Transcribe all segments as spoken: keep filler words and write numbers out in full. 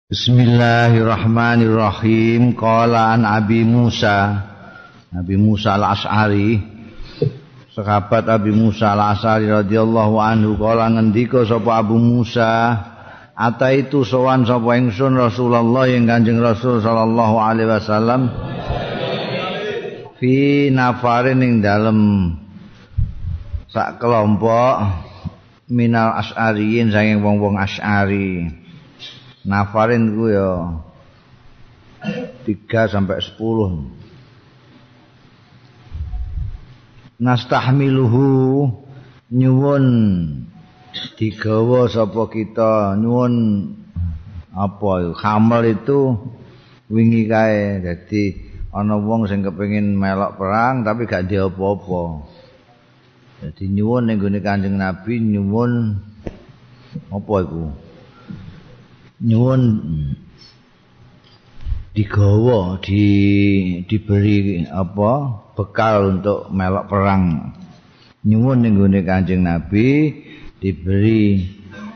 Bismillahirrahmanirrahim. Qala an Abi Musa, Abi Musa al-Asy'ari, sahabat Abi Musa al-Asy'ari radhiyallahu anhu, qala ngendika sapa Abu Musa, ataitu sowan sapa ingsun Rasulullah yang Kanjeng Rasul sallallahu alaihi wasallam fi nafarin ing dalem sak kelompok minal asy'ariyin saking wong-wong Asy'ari. Nafarin ku ya tiga sampai sepuluh. Nastahmiluhu nyuwun digawa sapa kita, nyuwun apa hamel itu wingi kae. Dadi ana wong sing kepengin melok perang tapi gak ndek apa-apa. Dadi nyuwun ning gone Kanjeng Nabi, nyuwun apa iku? Nyuwun digawa, di diberi apa bekal untuk melok perang. Nyuwun ning gone Kanjeng Nabi diberi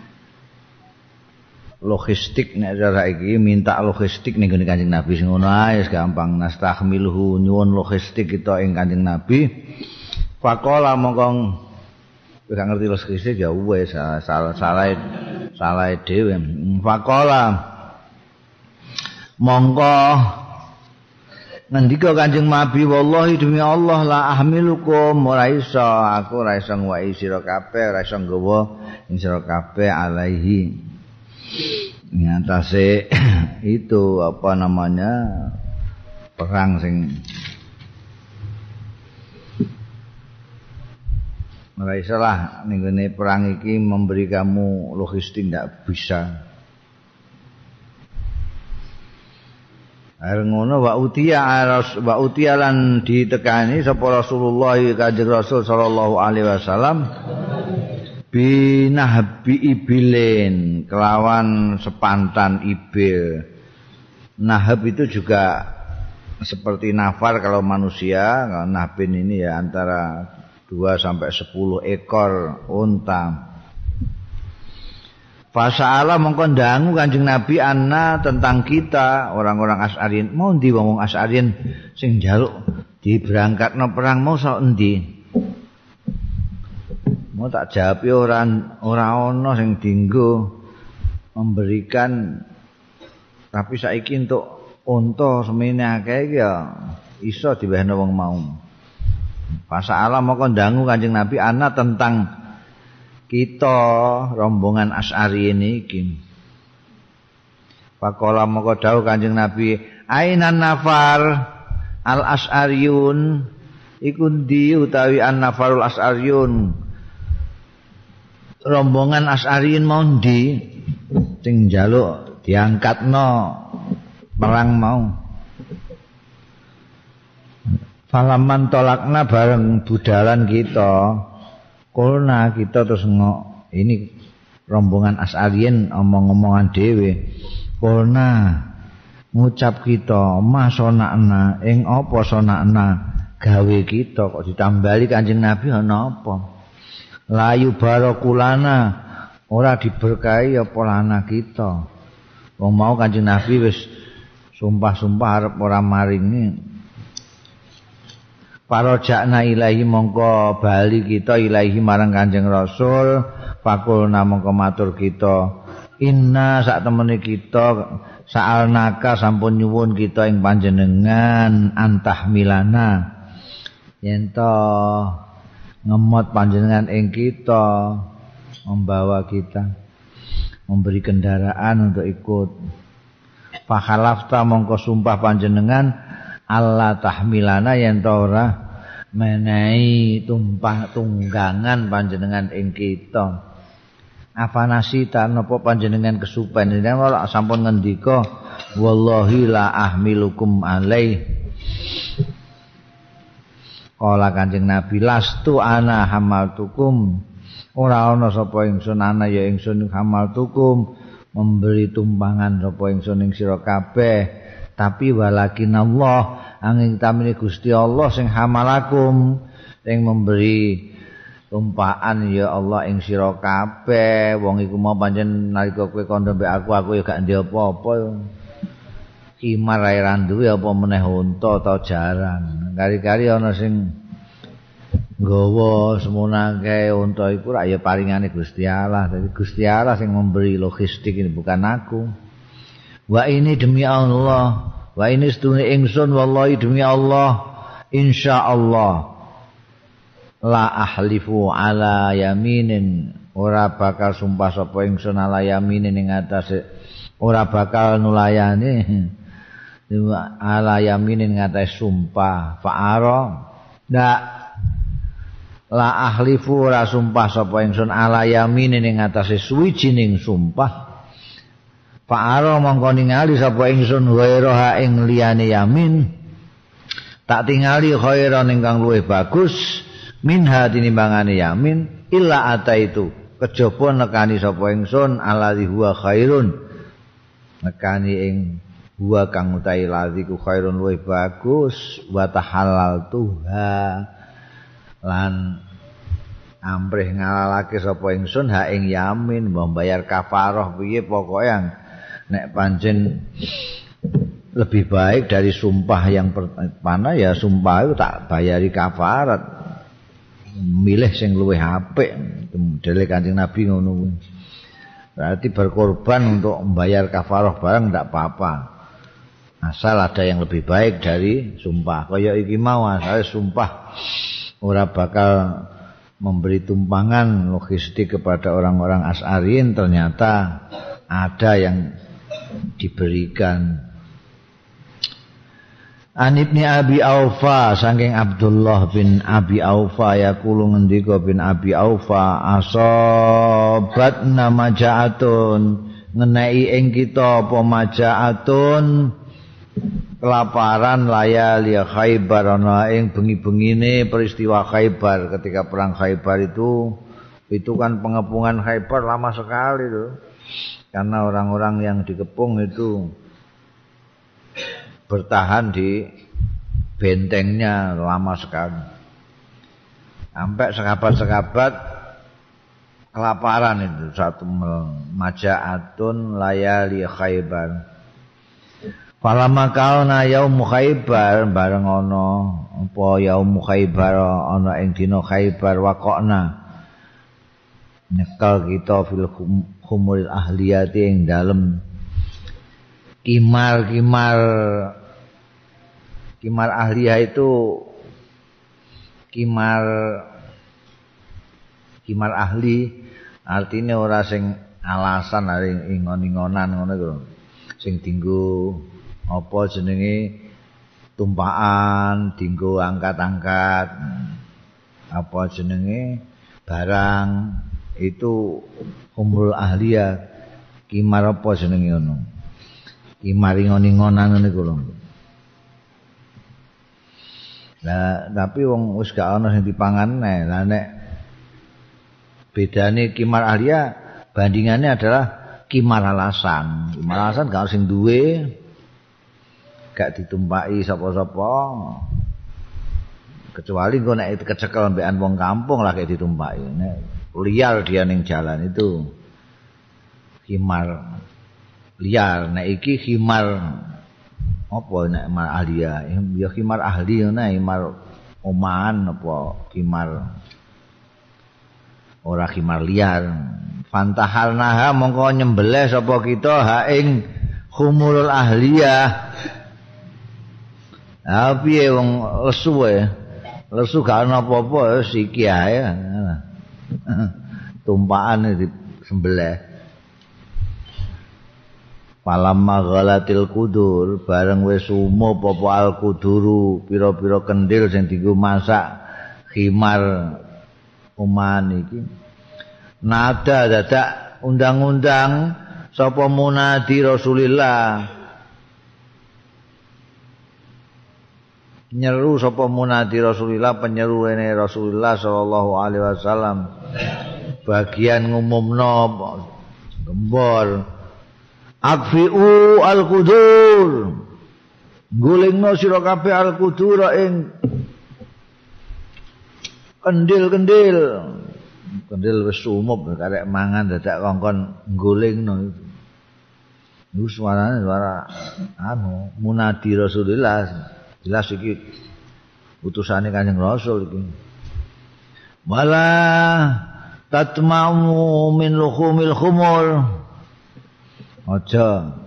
logistik, nek cara iki minta logistik ning gone Kanjeng Nabi sing ngono ae gampang. Nastahmiluhu nyuwun logistik kita ing Kanjeng Nabi. Faqala mongkong gak ngerti logistik ya wis salah salah salah dhewe. Faqala mongko ngendika Kanjeng Nabi, wallahi demi Allah la ahmilukum, ora iso aku ora iso ngwai sira kabeh, ora iso nggawa ing sira kabeh alaihi nyatase itu apa namanya perang sing ora iso lah ning ngene perang iki memberi kamu logistik ndak bisa. Are ngono wa utiya wa utiya lan ditekani sapa Rasulullah Kanjeng Rasul sallallahu alaihi wasallam binahbi ibilin kelawan sepantan ibil. Nahab itu juga seperti nafar kalau manusia, kalau nahbin ini ya antara dua sampai sepuluh ekor unta. Fasa'ala mongko ndangu Kanjeng Nabi anna tentang kita orang-orang Asy'ariyin. Mau ndi wong Asy'ariyin sing njaluk diberangkatno perang mau sak endi? Mau tak jawab ora ora ana sing dienggo memberikan, tapi saiki entuk unta semene akeh iki ya iso diwehno wong mau. Fasa'ala mongko ndangu Kanjeng Nabi ana tentang kita rombongan Asy'ari ini iki. Faqala mongko dawuh Kanjeng Nabi, ainan nafar al asy'ariyun, iku ndi utawi an nafarul asy'ariyun, rombongan Asy'ariyin mau ndi sing njaluk diangkatno perang mau. Falaman tolakna bareng budalan kita, kulna kita terus ngok ini rombongan Asy'ariyin omong-omongan dhewe. Kulna ngucap kita masonakna ing apa sonakna gawe kita, kok ditambali Kanjeng Nabi ana apa? Layu barakulana ora diberkahi apa lana kita. Wong mau Kanjeng Nabi wis sumpah-sumpah arep ora maringi. Parajakna ilahi mongko bali kita ilahi marang Kanjeng Rasul. Fakulna mongko matur kita, inna sak temene kita sa'alnaka sampun nyuwun kita ing panjenengan antahmilana yen to ngemot panjenengan ing kita, membawa kita, memberi kendaraan untuk ikut. Fakhalafta mongko sumpah panjenengan Allah tahmilana yen to ora menehi tumpah tunggangan panjenengan ing kita. Afanasita napa panjenengan kesupen? Nek ora sampun ngendika wallahi la ahmilukum alaih. Kala Kanjeng Nabi, lastu ana hamaltukum, ora ana sapa ingsun ana ya ingsun hamaltukum, memberi tumpangan sapa ingsun ing sira kabeh. Tapi walakin Allah angin tamine Gusti Allah sing hamalakum, sing memberi tumpaan ya Allah ing sira kabeh wong iku mau pancen nalika kowe kandha mbek aku aku ya gak ndek apa-apa kimar ae ra duwe apa meneh unta ta jaran kari-kari ana sing nggawa semunake unta iku ra ya paringane Gusti Allah dadi Gusti Allah sing memberi logistik ini bukan aku wa ini demi Allah wa ini sedune ingsun wallahi demi Allah insyaallah la ahlifu ala yaminin ora bakal sumpah sapa ingsun ala yaminin ing atase ora bakal nulayani ala yaminin ing atase sumpah fa'ara ndak la ahlifu ora sumpah sapa ingsun ala yaminin ing atase suwijining sumpah fa'ara mongko ningali sapa ingsun ghairaha ing liyane yamin tak tingali khairan ingkang luwih bagus minha tinimbangane yamin illa ata itu kejaba nekani sapa ingsun alladzi huwa khairun nekani ing huwa kang utahe ladzi ku khairun luwih bagus wa tahallal tuha lan amprih ngalalake sapa ingsun ha ing yamin membayar kafarah piye pokoke nek pancen lebih baik dari sumpah yang pertama ya sumpah itu tak bayari kafarat milih sing luwih apik modele Kanjeng Nabi ngono berarti berkorban untuk membayar kafarah barang ndak apa-apa asal ada yang lebih baik dari sumpah kaya iki mau asal sumpah ora bakal memberi tumpangan logistik kepada orang-orang Asy'ariyin ternyata ada yang diberikan An Ibni Abi Aufa saking Abdullah bin Abi Aufa yaqulu ngendika bin Abi Aufa asobat namajaatun ngenai ing kita apa majaatun kelaparan layali Khaibar ana ing bengi-bengine peristiwa Khaibar ketika perang Khaibar itu itu kan pengepungan Khaibar lama sekali tuh karena orang-orang yang dikepung itu bertahan di bentengnya lama sekali sampai sekabat-sekabat kelaparan itu satu majaatun layali Khaibar Falama kauna yaum Khaibar bareng ana apa yaum Khaibar ana ing dina Khaibar waqona nyekel kita fil khumul ahliyati ing dalem kimar-kimar kimar ahliyah itu kimar kimar ahli artinya ora sing alasan ari ingon-ingonan ngono iku sing dinggo apa jenenge tumpakan dinggo angkat-angkat apa jenenge barang itu umrul ahliyah kimar apa jenenge ngono kimar ingon-ingonan niku lho. Lah tapi wong wis gak ana sing dipangan nek lah nek bedane kimar ahliyah bandingannya adalah kimar alasan. Kimar alasan gak sing duwe gak ditumpaki sapa-sapa kecuali engko nek kecekel mbekan wong kampung lah kayak ditumpaki nek liar dia ning jalan itu khimar liar nek iki khimar apa nek khimar ahliya ya khimar ahli nek khimar omahan apa khimar ora khimar liar fantahalnaha mongko nyembelih sapa kita ha ing khumurul ahliyah. Ah piye wong lesu wae. Lesu gak ana apa-apa siki ae. Tumpakan disembelih. Palamma ghalatil kudur bareng wis umup apa al kuduru pira-pira kendil sing dienggo masak khimar uman iki. Nada dadak undang-undang sapa munadi Rasulillah. Nyeru sapa munadi Rasulillah penyeruene Rasulullah sallallahu alaihi wasallam bagian ngumumno gembor akfiu al-qudur gulingno sira kabeh al-qudur ing kendil-kendil kendel wis sumup karek mangan dadak kongkon nggolingno itu. Iku suarane suara anu munadi Rasulullah. Jelas iki utusane Kanjeng Rasul iki. Wala tatma'u min luhumil khumur. Aja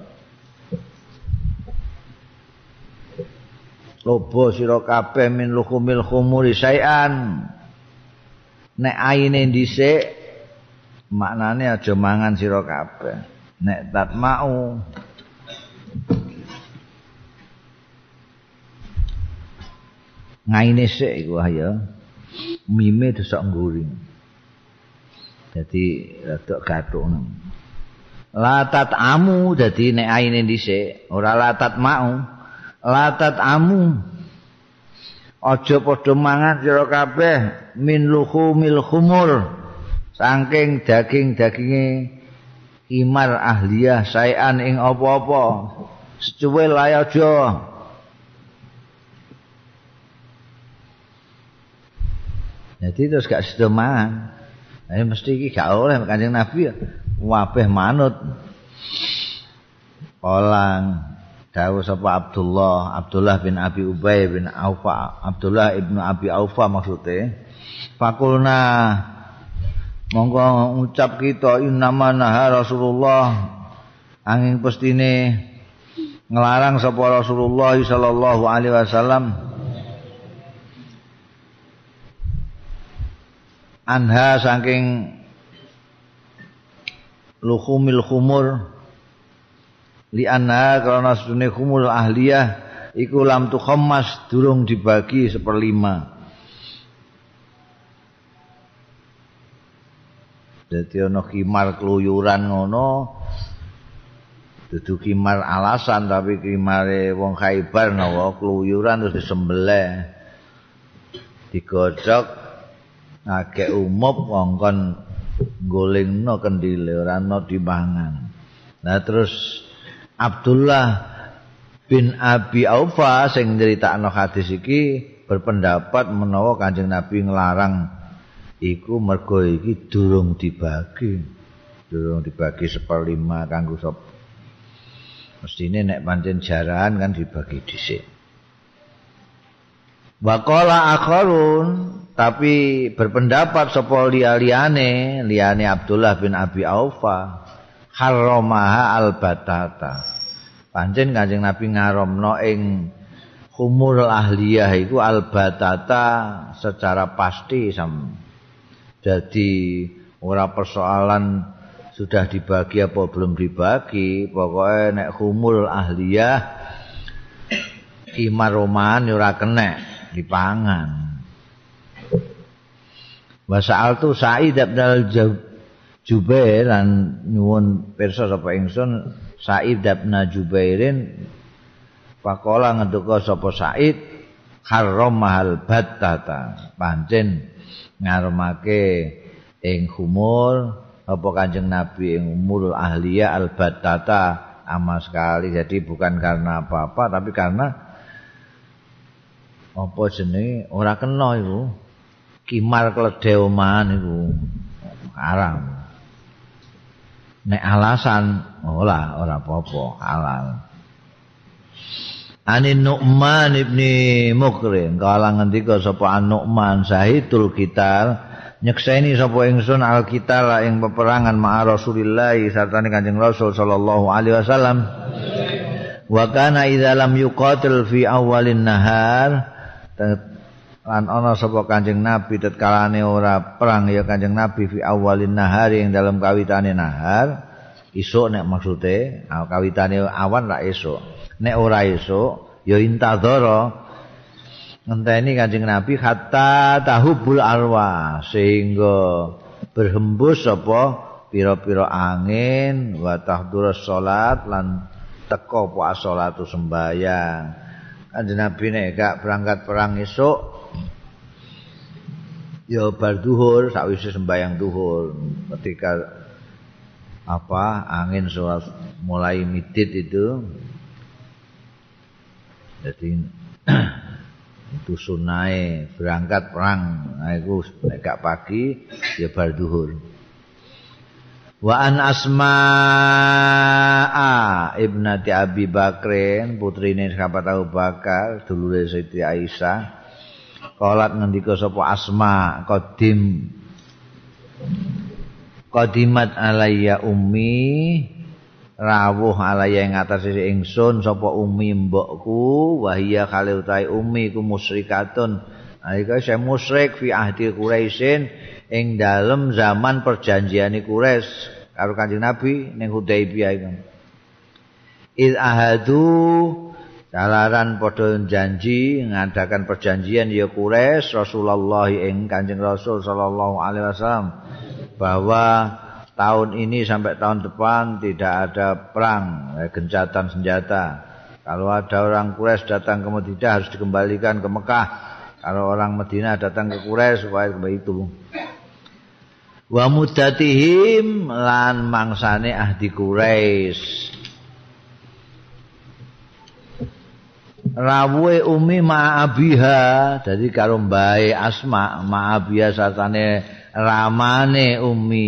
lobo sira kabeh min luhumil khumuri sayan. Nek aine dhisik maknane aja mangan sira kabeh. Nek tatma'u ngaine sik iku ayo mime desok nguri. Dadi rada gathuk. Latat amu dadi nek aine dhisik ora latat mau. Latat amu aja padha mangan sira kabeh min luhumil khumur saking daging-daginge himar ahliyah saean ing apa-apa secuwil ae aja. Jadi terus gak sedo mangan. Nah, mesti iki gak oleh Kanjeng Nabi ya. Wabeh manut. Olang dawuh sapa Abdullah, Abdullah bin Abi Ubay bin Aufa, Abdullah ibnu Abi Aufa maksudnya. Fakulna monggo ngucap kita innama naha Rasulullah angin pestine ngelarang sapa Rasulullah sallallahu alaihi wasallam anha saking luhumil khumur li anha karena sedune khumul ahliyah iku lam tu khammas durung dibagi seperlima. Dadi ana khimar keluyuran ngono dudu khimar alasan tapi khimare wong Khaibar nawa keluyuran terus disembelih digodhog agek umup ngongkon golingno kendile ora ana dimangan. Nah terus Abdullah bin Abi Aufa sing nyritakno hadis iki berpendapat menawa Kanjeng Nabi nglarang iku mergo iki durung dibagi. Durung dibagi seperlima kanggo sop. Mestine nek pancen jarahan kan dibagi dhisik. Waqala akharun tapi berpendapat sapa liyane liyane Abdullah bin Abi Aufa haramaha albatata. Pancen Kanjeng Nabi ngaramno ing khumul ahliyah iku albatata secara pasti sam. Jadi ora persoalan sudah dibagi apa belum dibagi, pokoknya nek khumul ahliyah khimar roman ora kena dipangan. Wa sa'altu Sa'id bin Jubair lan nyuwun pirsa sapa ingsun Sa'id bin Jubairin faqala ngendika sapa Sa'id haramahal battata pancen ngaramake ing khumul apa Kanjeng Nabi ing umul ahliyah al battata sama sekali. Jadi bukan karena apa-apa tapi karena apa jenenge ora kena iku kimar kledhe omahan iku haram. Nek alasan ora ora apa-apa halal. Ani Nu'man ibni Mukrim kala ngendika sapa Nu'man sahidul qital nyekseni sapa ingsun al qital ing peperangan ma'a Rasulillah sartane Kanjeng Rasul sallallahu alaihi wasallam. Wa kana idza lam yuqatil fi awalin nahar lan ana sapa Kanjeng Nabi tatkalane ora perang ya Kanjeng Nabi fi awalin nahar ing dalam kawitane nahar isuk nek maksude kawitane awan ra esuk. Nek ora esuk ya intadzara ngenteni Kanjeng Nabi hatta tahubul arwah sehingga berhembus apa pira-pira angin wa tahdurus salat lan teka apa salatu sembahyang. Kanjeng Nabi nek gak berangkat perang esuk ya bar zuhur sakwise sembahyang zuhur ketika apa angin suara mulai midit itu. Jadi itu sunahe berangkat perang nah iku nek gak pagi ya bar zuhur. Wa an Asma'a ibnati Abi Bakrin putrine sahabat Abu Bakar dulure Siti Aisyah qalat ngendika sapa Asma qadim qadimat alayya ummi rawuh alayya ing atase ingsun sapa ummi mbokku wa hiya kale utahe ummi ku musyrikatun alika saya musyrik fi ahdi Quraisyin ing dalem zaman perjanjiane Quraisy karo Kanjeng Nabi ning Hudaibiyah iku. Il ahadu calaran padha janji ngadakan perjanjian ya Quraisy Rasulullah ing Kanjeng Rasul sallallahu alaihi wasallam bahwa tahun ini sampai tahun depan tidak ada perang, gencatan senjata. Kalau ada orang Quraisy datang ke Madinah harus dikembalikan ke Mekah. Kalau orang Madinah datang ke Quraisy supaya begitu. Wa muddatihim lan mangsane ahdi Quraisy. Rawuhe Umi ma'abiha, dadi karo mbae Asma ma'abiha satane ramane Umi.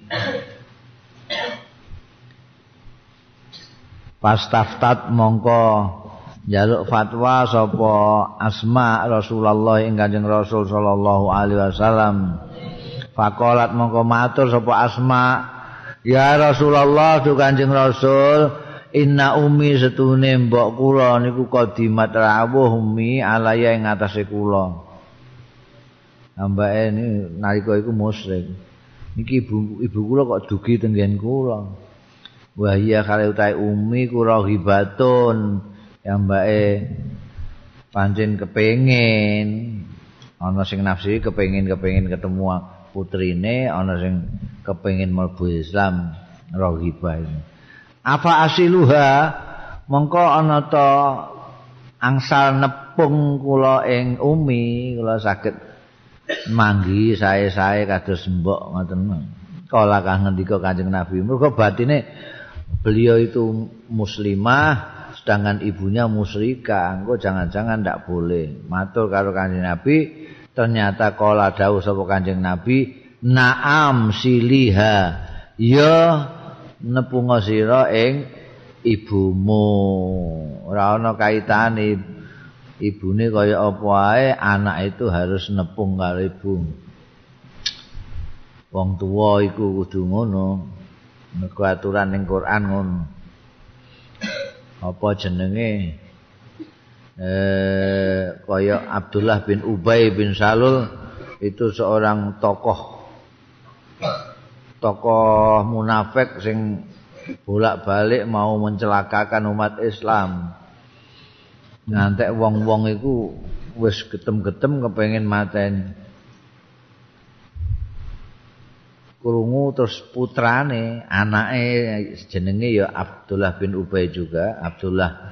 Pastaftat mongko njaluk fatwa sapa Asma Rasulullah ing Kanjeng Rasul sallallahu alaihi wasallam. Faqalat mongko matur sapa Asma, ya Rasulullah tu Kanjeng Rasul, inna ummi setune mbok kula niku qadimat rawuh ummi alaya ing atase kula. Ambake ini nalika iku musyrik. Niki ibu ibu kula kok dugi tenggen kula. Wa iya kale utahe ummi kula hibatun. Ambake pancen kepengin ana sing nafsi kepengin-kepengin ketemu putrine, ana sing kepengin mlebu Islam rohibah ini. Apa asiluha mongko ana ta angsal nepung kula ing umi kula saged manggi sae-sae kados mbok ngoten. Kala kang ngendika Kanjeng Nabi mergo batine beliau itu muslimah sedangkan ibunya musyrikah. Engko jangan-jangan ndak boleh. Matur karo Kanjeng Nabi ternyata kala dawuh sapa Kanjeng Nabi naam siliha ya nepunga sira ing ibumu ora ana kaitane ibune kaya apa ae anak itu harus nepung karo ibu wong tuwa iku kudu ngono nek aturan ning Quran ngono apa jenenge eh kaya Abdullah bin Ubay bin Salul itu seorang tokoh tokoh munafik sing bolak-balik mau mencelakakan umat Islam. Ngantek wong-wong iku wis getem-getem kepengin mateni. Krungu terus putrane, anake jenenge ya Abdullah bin Ubay juga, Abdullah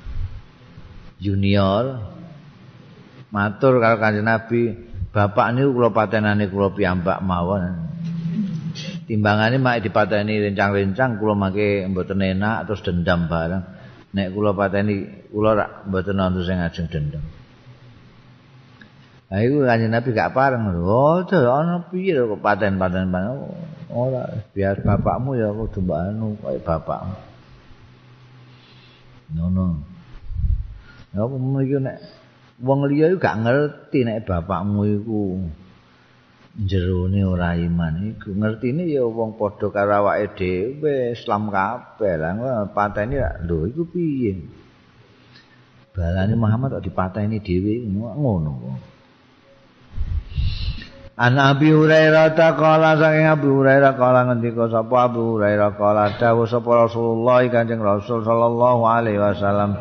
Junior. Matur karo Kanjeng Nabi, bapak niku kula patenane kula piyambak mawon. Timbangane mak dipateni rencang-rencang kula mangke mboten enak terus dendam bareng. Nek kula pateni kula rak mboten wonten sing ajeng dendam. Ha iku Kanjeng Nabi gak pareng. Oh, ana piye kok paten-paten ora biar bapakmu ya kudu mbak anu kaya bapakmu. Ngono. Ya apa iki nek wong liya iku gak ngerti nek bapakmu iku jerone ora iman iku ngertine ya wong padha karo awake dhewe Islam kabeh lah pateni lho iku piye balane Muhammad kok dipateni dhewe ngono kok. An Abi Hurairah taqala saking Abi Hurairah kala ngendika sapa Abu Hurairah kala dawuh sapa Rasulullah Kanjeng Rasul sallallahu alaihi wasallam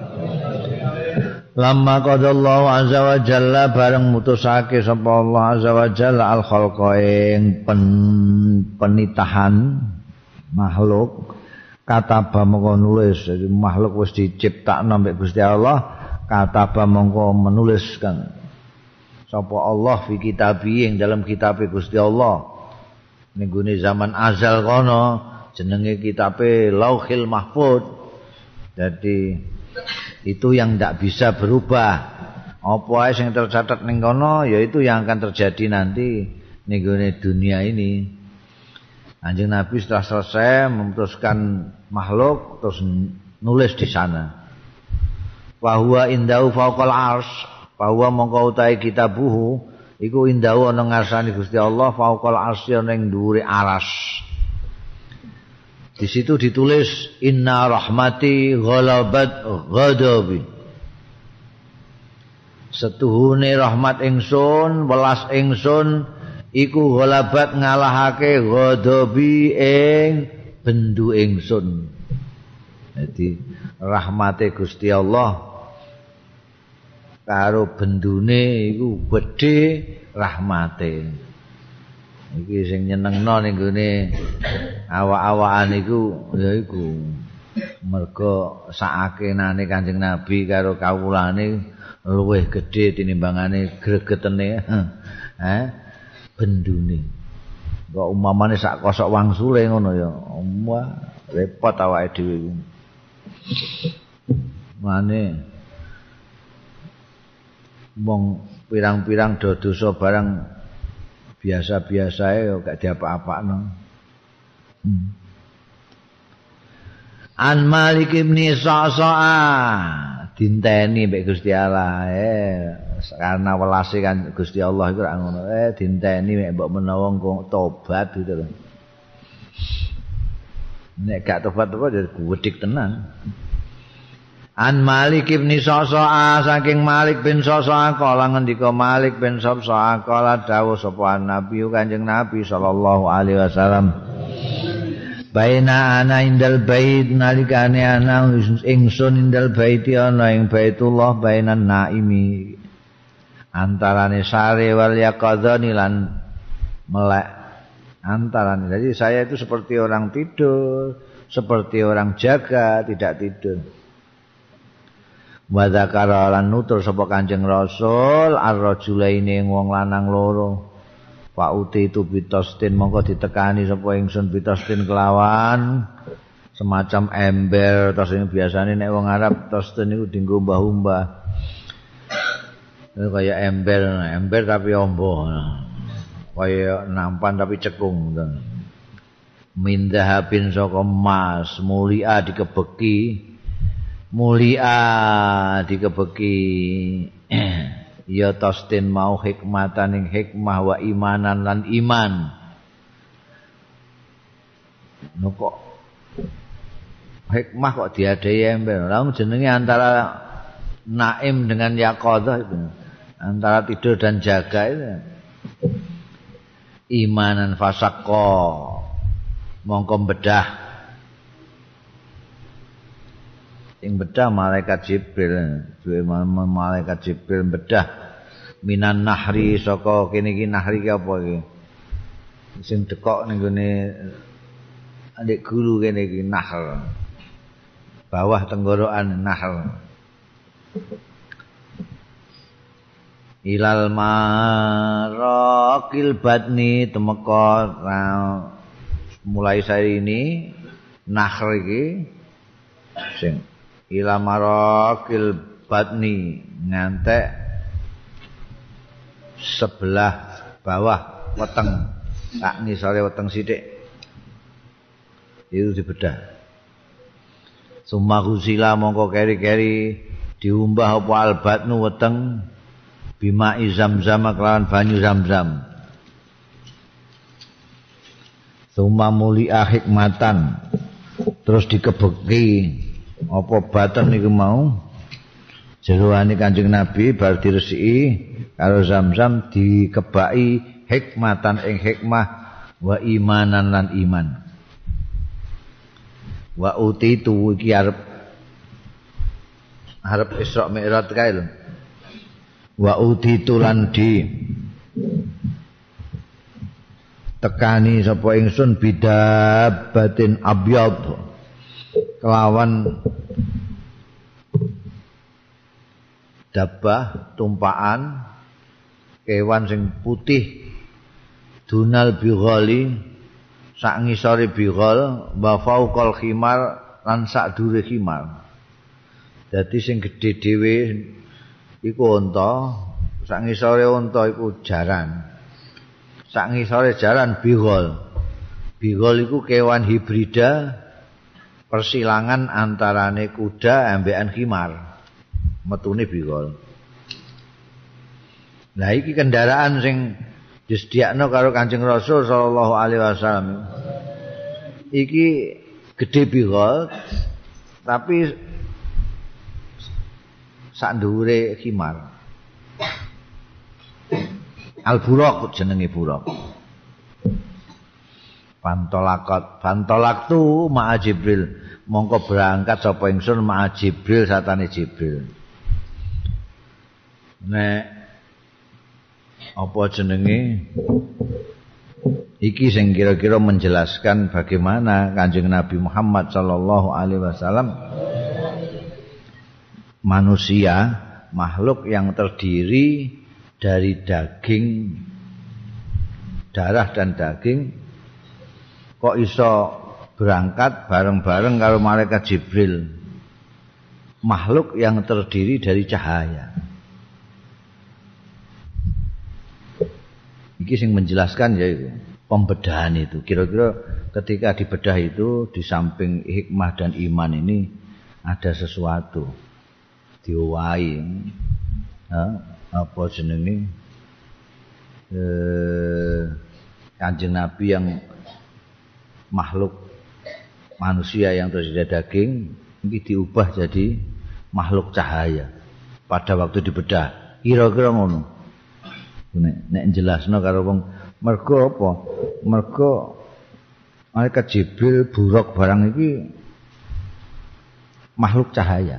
lamma qadallahu azza wa jalla bareng mutusake sapa Allah azza wa jalla al khalqa ing pen, penitahan makhluk kataba mongko nulis jadi makhluk wis diciptakno mbek Gusti Allah kataba mongko menuliskan sapa Allah fi kitabi ing dalam kitab Gusti Allah ning gone zaman azal kono jenenge kitabe Lauhil Mahfuz. Jadi itu yang tidak bisa berubah Apa ae sing tercatat ning kono ya itu yang akan terjadi nanti ning gone dunia ini. Kanjeng Nabi setelah selesai memutuskan makhluk terus nulis di sana. Wa huwa indahu fawqal arsy, bahwa mongko utahe kitabuhu iku indahu ana ngarsane Gusti Allah fawqal arsy ning dhuwure aras. Di situ ditulis inna rahmati ghalabat ghadabi. Setuhune rahmat ingsun, welas ingsun iku ghalabat ngalahake ghadabi ing bendu ingsun. Jadi rahmate Gusti Allah karo bendune iku gedhe rahmate. Iki sing nyenengno ning gone awak-awakan iku ya iku merga sakenane Kanjeng Nabi karo kawulane luwih gedhe tinimbangane gregetene eh bendune. Kok umpamane sak kosok wangsule ngono ya. Wah, repot awake dhewe iku. Mane wong pirang-pirang do dosa barang biasa-biasa ya gak diapa-apakno. Hmm. An Malik bin Sa'sa'a dinteni mbek Gusti Allah eh karena welase kan Gusti Allah iku ra ngono eh dinteni mek mbok menawa engko tobat gitu lho. Nek gak tobat-tobat ya gudhik tenan. An Malik bin Sa'sa'a saking Malik bin Sa'sa'a kala ngendika Malik bin Sa'sa'a kala dawuh sapa Nabi Kanjeng Nabi sallallahu alaihi wasallam baina ana indal bait nalikane ana ingsun indal baiti ana ing Baitullah bainan naimi antarane sare wal yaqadzani lan melek antarane. Jadi saya itu seperti orang tidur, seperti orang jaga, tidak tidur. Wa dzakara lan nutur sapa Kanjeng Rasul ar-rajulaini wong lanang loro. Pak uti itu bitostin mongko ditekani sapa ingsun bitostin kelawan semacam ember tos ini biasane nek wong Arab tostin niku dienggo mbah-mbah. Kaya ember, ember tapi ombo. Kaya nampan tapi cekung. Mindahabin saka emas, mulia dikebeki. Mulia dikebeki. Ya tostin mau hikmatan ing hikmah wa imanan lan iman. No kok hikmah kok diadai ember. Lah jenenge antara naim dengan yaqadzah itu. Antara tidur dan jaga itu. Imanan fasaqqa mongko bedah. Sing bedah malaikat Jibril, duwe malaikat Jibril bedah minan nahri saka kene iki nahri ki apa iki? Sing dekok ning gone ndek guru kene iki nahr. Bawah tenggorokan nahr. Ilal maraqil batni temeka mulai saya ini nahr iki sing ila marakil batni ngantek sebelah bawah weteng tak ngisore weteng sithik itu dibedah. Summa ghusila mongko keri-keri diumbah apa albatnu weteng bima Zamzam kelawan banyu Zamzam. Summa mulia hikmatan terus dikebeki apa batan niku mau jeroane Kanjeng Nabi bar diresiki karo Zamzam dikebaki hikmatan ing hikmah wa imanan lan iman. Wa utitu iki arep arep Isra Mi'raj kae lho. Wa utitu lan di tekani sapa ingsun bidabatin abyad kelawan dabah tumpaan kewan sing putih dunal bighali sak ngisore bighal wa fauqal khimar lan sak dure khimar. Dadi sing gedhe dhewe iku unta, sak ngisore unta iku jaran. Sak ngisore jaran bigol. Bigol iku kewan hibrida persilangan antarane kuda ambekan khimar. Metune bigol. Lah iki kendaraan sing disediakno karo Kanjeng Rasul sallallahu alaihi wasallam. Iki gede bigol tapi sak dhuwure khimar. Al-Buraq jenenge buraq. Pantolakot, pantolak tu ma'a Jibril. Mongko berangkat sapa ingsun ma'a Jibril satane Jibril. Nek apa jenenge iki sing kira-kira menjelaskan bagaimana Kanjeng Nabi Muhammad sallallahu alaihi wasallam manusia, makhluk yang terdiri dari daging, darah dan daging, kok iso berangkat bareng-bareng karo malaikat Jibril, makhluk yang terdiri dari cahaya. Iki sing menjelaskan ya itu pembedahan itu. Kira-kira ketika dibedah itu di samping hikmah dan iman ini ada sesuatu diwai. Ha, apa jenenge? Eh, Kanjeng Nabi yang makhluk manusia yang terdiri dari daging ini diubah jadi makhluk cahaya pada waktu dibedah. Kira-kira ngono. Nek nek jelasno karo wong mergo apa? Mergo malaikat Jibril buruk barang iki makhluk cahaya.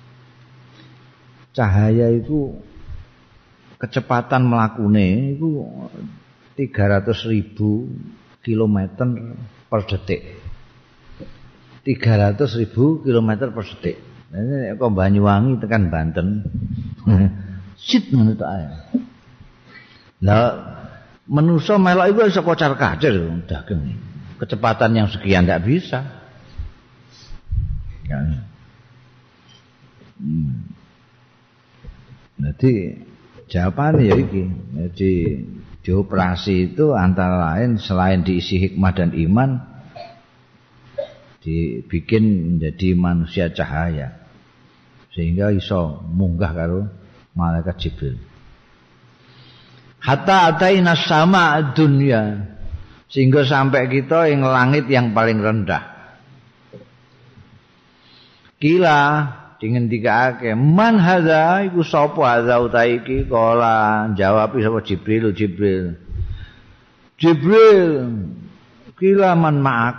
Cahaya itu kecepatan melakune itu tiga ratus ribu kilometer per detik. tiga ratus ribu kilometer per detik. Ini kok Banyuwangi tekan Banten. Sit ngono tok ae. Lah manusia melok itu bisa kocar kacir daging. Kecepatan yang sekian tidak bisa. Ya. Hmm. Jadi jawabannya ya iki. Jadi dioperasi itu antara lain selain diisi hikmah dan iman, dibikin menjadi manusia cahaya sehingga iso munggah karo malaikat Jibril. Hatta ataina sama dunia sehingga sampai kita yang langit yang paling rendah. Kila dingendikake man hadza iku sapa hadza utahe iki kala jawab sapa Jibril Jibril Jibril kila man ma'ak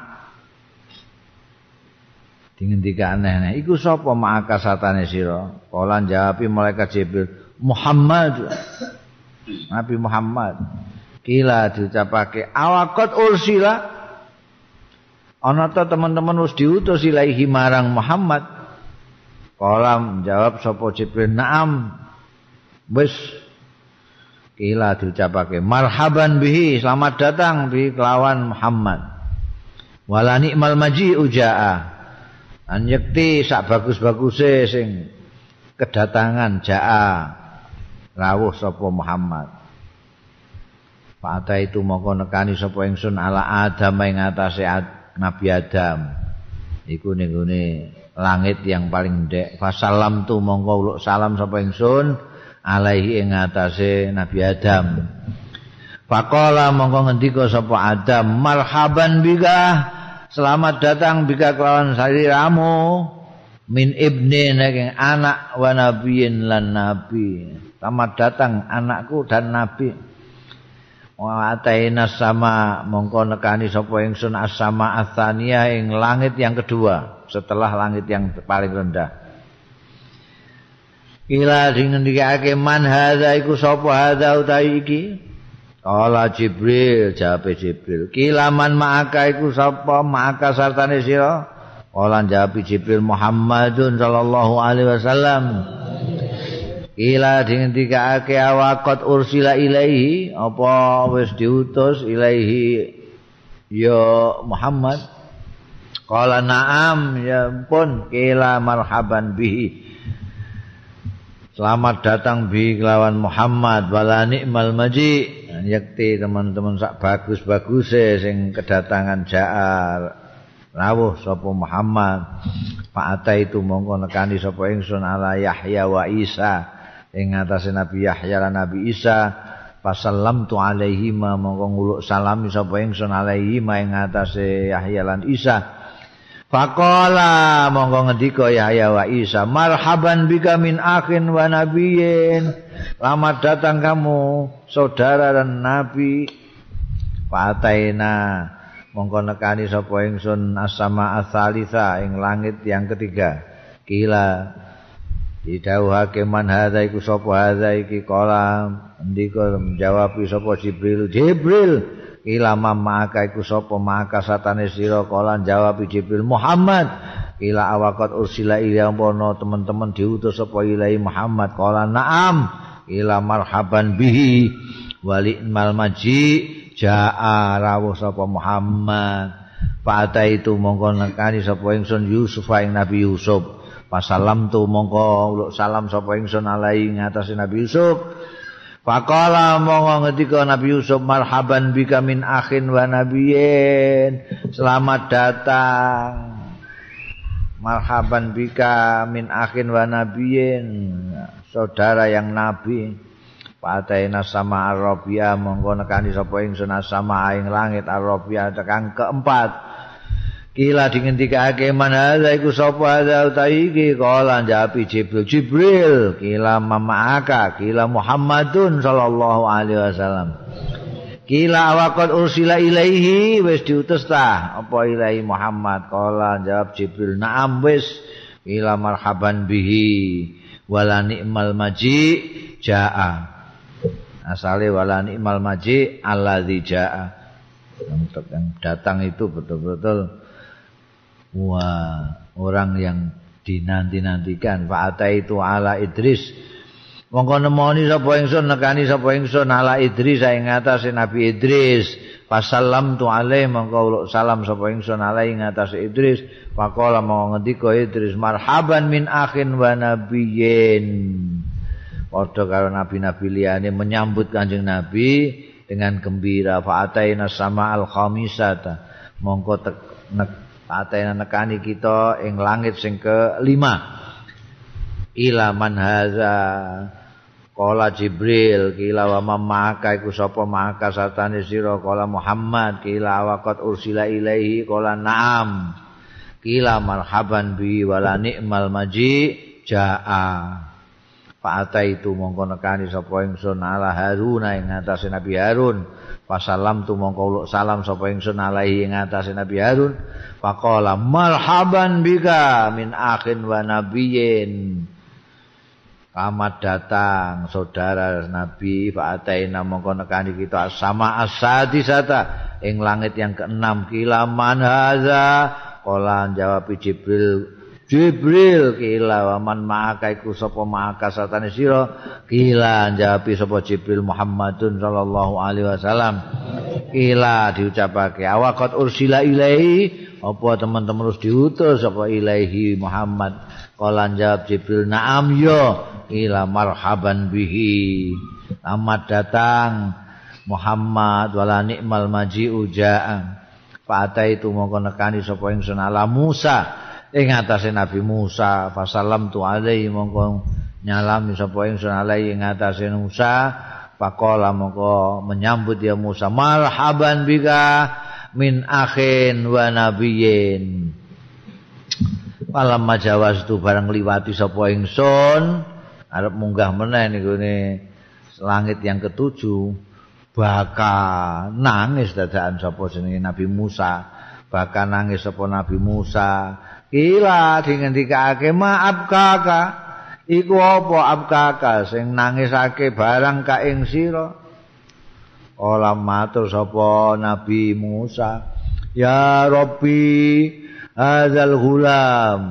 dingendikake aneh iku sapa ma'aka satane sira kala jawab malaikat Jibril Muhammad Nabi Muhammad. Kila diucapake awakot ursila ana ta teman-teman wis diutus ilahi marang Muhammad. Kala jawab sapa Jibril na'am wis. Kila diucapake marhaban bihi selamat datang bi kelawan Muhammad. Wala ni'mal maji'u ja'a an yakti sak bagus-baguse sing kedatangan ja'a rawuh sapa Muhammad. Pada itu mongko nekani sapa ingsun ala Adam ing atase Nabi Adam. Iku ning gone langit yang paling ndek. Fasalam tu mongko uluk salam sapa ingsun alaihi ing atase Nabi Adam. Faqala mongko ngendika sapa Adam, marhaban bika, selamat datang bika kelawan saliramu min ibni saking anak wa nabiyin lan nabi. Selamat datang anakku dan nabi. Wa ataina sama mongko nekani sapa ingsun as-sama ats-tsaniyah ing langit yang kedua setelah langit yang paling rendah. Kila dingendikake man hadza iku sapa hadza utawi iki? Kala Jibril, jawab Jibril. Kila man ma'aka iku sapa ma'aka sartane sira? Kala jawab Jibril Muhammadun sallallahu alaihi wasallam. Ila dingendikake awaqat ursila ilaihi apa wis diutus ilaihi ya Muhammad. Qala na'am ya pun kila marhaban bihi. Selamat datang bi kelawan Muhammad wala ni'mal maji. Yakti teman-teman sak bagus-baguse sing kedatangan jaar rawuh sapa Muhammad. Fa'ata itu mongko nekani sapa ingsun ala Yahya wa Isa ing atase Nabi Yahya lan Nabi Isa. Fasallamtu alaihi ma mongko nguluk salami sapa ingsun alaihi ma ing atase Yahya lan Isa. Faqala mongko ngendika Yahya wa Isa, marhaban bika min akhin wa nabiyyin. Selamat datang kamu saudara dan nabi. Fa'ataina mongko nekani sapa ingsun as-sama ats-tsalitsah ing langit yang ketiga. Kila didhawuhake man hadza iku sapa hadza iki kala ndika menjawab sapa Jibril Jibril kila maka iku sapa maka satane sira kala jawab Jibril Muhammad kila awaqat ursila ila pono teman-teman diutus sapa ilahi Muhammad kala na'am kila marhaban bihi wali mal maji jaa rawuh sapa Muhammad. Fa'ata itu mongko nekani sapa ingsun Yusuf ing Nabi Yusuf. Pasalam tu mongko uluk salam sapa ingsun alai ngatasi Nabi Yusuf. Faqala mongko ngendika Nabi Yusuf marhaban bika min akhin wa nabiyyin. Selamat datang. Marhaban bika min akhin wa nabiyyin. Saudara yang nabi. Pataina sama Arabia mongko nekani sapa ingsun sama ing langit Arabia tekan keempat. Kila dingendikake man hadza iku sapa hadza utawi iki kala njapi Jibril Jibril kila mamaaka kila Muhammadun sallallahu alaihi wasallam. Kila waqad ursila ilaihi wis diutus ta apa ilahi Muhammad kala jawab Jibril na'am wis kila marhaban bihi wala ni'mal maji jaa. Asale wala ni'mal maji alladzi jaa. Yang datang itu betul-betul wah, orang yang dinanti-nantikan. Fa'ata itu ala Idris. Mongko nemoni sapa ingsun nekani sapa ingsun ala Idris ing atase Nabi Idris. Fasallam tu alaihi mongko uluk salam sapa ingsun alaihi ing atase Idris. Faqala mongko ngendika Idris marhaban min akhin wa nabiyyin. Padha karo nabi-nabi liyane menyambut Kanjeng Nabi dengan gembira. Fa'ataina sama al-khamisata. Mongko tek nek fa'ataina nekani kita ing langit sing kelima. Ila man haza qala Jibril kila wa maka iku sapa maka satane sira qala Muhammad kila waqat ursila ilaihi qala na'am kila marhaban bi wala ni'mal maji jaa. Fa'ata itu mongko nekani sapa ingsun ala Haruna ing atase Nabi Harun. Fasalam tu mongko uluk salam sapa ingsun alaihi ing atase Nabi Harun. Faqala marhaban bika min akhin wa nabiyyin. Selamat datang saudara Nabi. Fa'ataina mongko nekani kita sama as-sadisata ing langit yang keenam. Kila man haza qala jawab Jibril Jibril kila waman maka iku sapa maka satane sira kila njawabi sapa Jibril Muhammadun sallallahu alaihi wasallam kila diucapake awaqat ursila ilaihi apa teman-teman harus diutus sapa ilaihi Muhammad kala njawab Jibril na'am ya kila marhaban bihi selamat datang Muhammad wala ni'mal maji'u ja'a fa'ata itu mongko nekani sapa ingsun ala Musa ing atase Nabi Musa fasalam tu alaihi mongko nyalami sapa ingsun alaihi ing atase Musa faqala mongko menyambut ya Musa marhaban bika min akhin wa nabiyyin. Malam majawaz tu barang liwati sapa ingsun arep munggah meneh niku ne langit yang ketujuh bakal nangis dadakan sapa jenenge Nabi Musa bakal nangis sapa Nabi Musa. Kila dingendikake maaf kakak iku apa abkaka sing nangisake barang ka ing sira. Ola matur sapa Nabi Musa ya Rabbi hadzal ghulam.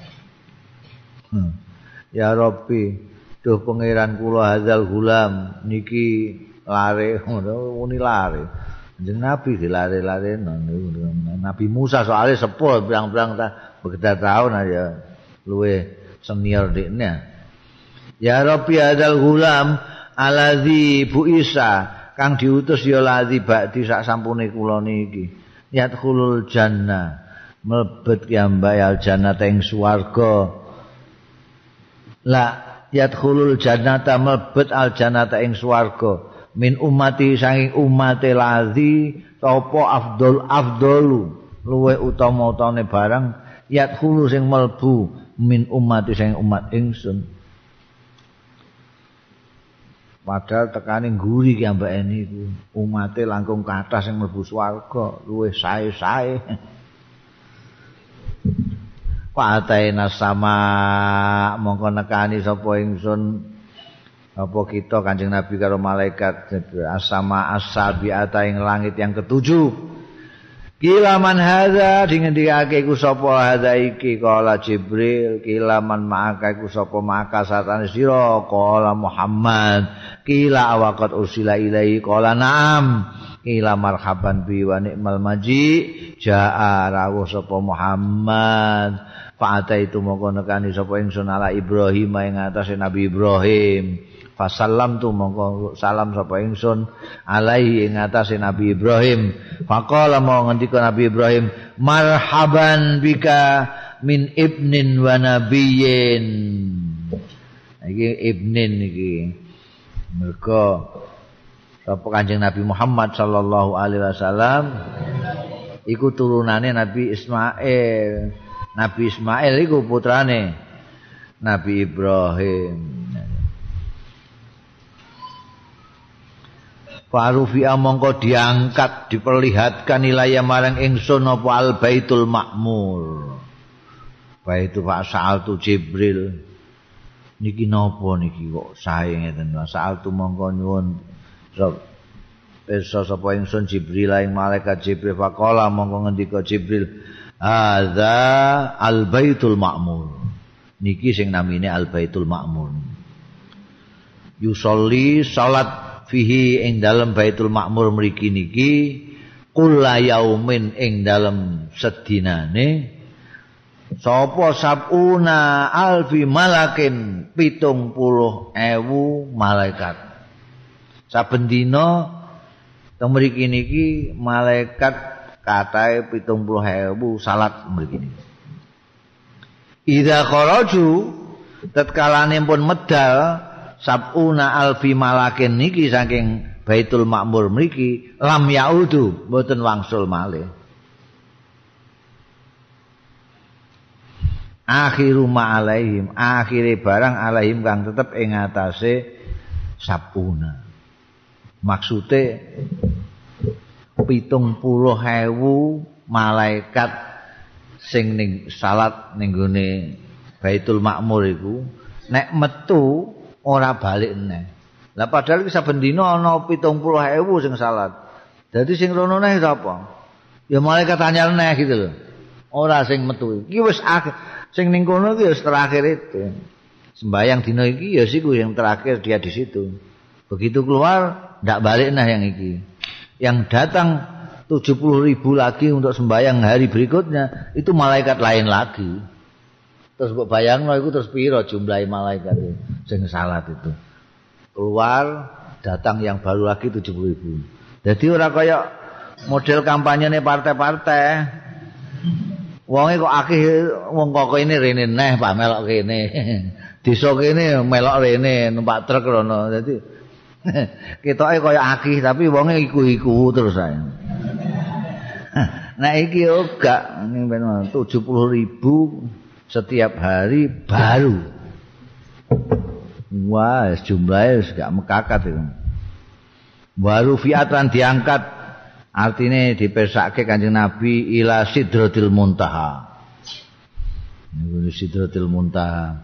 hmm. Ya Rabbi duh pangeran kula hadzal ghulam niki lare ngono muni lare. Jeneng Nabi dilare-lare Nabi Musa soalnya sepuh berang-berang ta begitu tahun aja luwe senior dekne. Ya Rabbi hadzal gulam aladzi bu Isa kang diutus ya ladzi ba'di sak sampune kula niki yadkhulul jannah mlebet ya mbayal jannata ing swarga la yadkhulul jannata mlebet al jannata ing swarga min ummati saking ummate ladzi apa afdol afdolu luwe utama-utane barang yadkhulu sing mlebu min ummati saking umat ingsun padahal tekane ngguri ki ambake niku umate langkung kathah sing mlebu swarga luwih sae-sae Pataina sama mongko nekani sapa ingsun apa kita Kanjeng Nabi karo malaikat asama as-sabiata ing langit yang ketujuh kila man hadza dingendikake iku sapa hadza iki kala Jibril kila man ma'aka iku sapa maka satane sira kala Muhammad kila awaqat ursila ilaihi kala na'am kila marhaban bi wa ni'mal maji jaa rawuh sapa Muhammad fa'ata itu mongko nekani sapa ingsun ala Ibrahim ing atase Nabi Ibrahim fasallam tu mongko salam sapa ingsun alaihi ing atase Nabi Ibrahim faqala mau ngendika Nabi Ibrahim marhaban bika min ibnin wa nabiyyin iki ibnin iki mergo sapa Kanjeng Nabi Muhammad sallallahu alaihi wasallam iku turunane Nabi Ismail Nabi Ismail iku putrane Nabi Ibrahim. Farufi mongko diangkat diperlihatkan ilaya marang ingsun apa al Baitul Ma'mur. Baitu fa sa'altu Jibril. Niki napa niki kok sae ngeten. Sa'altu mongko nyuwun pirsa sapa ingsun Jibril ing malaikat Jibril faqala mongko ngendika Jibril hadza al Baitul Ma'mur. Niki sing namine al Baitul Ma'mur. Yusolli salat fihi ing dalem Baitul Ma'mur mriki niki kulla yaumin ing dalem sedinane sapa sabuna alfi malakin pitung puluh ewu malaikat. Saben dina teng mriki niki malaikat katae pitung puluh ewu salat mriki niki. Idza kharaju tatkalane pun medal sabuna alfi malakin niki saking Baitul Ma'mur mriki lam yaudu mboten wangsul malih. Akhiru ma alaihim akhire barang alaihim kang tetep ing atase sabuna. Maksude pitung puluh ewu malaikat sing ning salat ning gone Baitul Ma'mur iku nek metu ora balik neh. Lah padahal iki saben dina ana pitung puluh ewu sing salat. Dadi sing rono neh sapa? Ya malaikat anyar neh gitu lho. Ora sing metu. Iki wis akhir. Sing ning kono iki wis terakhir itu. Sembayang dina iki ya siku yang terakhir dia di situ. Begitu keluar ndak balik nah yang iki. Yang datang tujuh puluh ribu lagi untuk sembahyang hari berikutnya itu malaikat lain lagi. Terus mbok bayangno iku terus piro jumlah malaikat itu sing salat itu. Keluar datang yang baru lagi tujuh puluh ribu. Jadi ora kaya model kampanyene partai-partai. Wonge kok akeh wong kok ini rene neh Pak melok kene. Desa kene melok rene numpak truk rono. Dadi ketoke kaya akeh tapi wonge iku-iku terus ae. Nah iki yo gak tujuh puluh ribu setiap hari baru. Wah, jumlahnya gak mekakat itu. Baru fiatan diangkat artinya dipesake Kanjeng Nabi ila Sidratil Muntaha. Niku Sidratil Muntaha.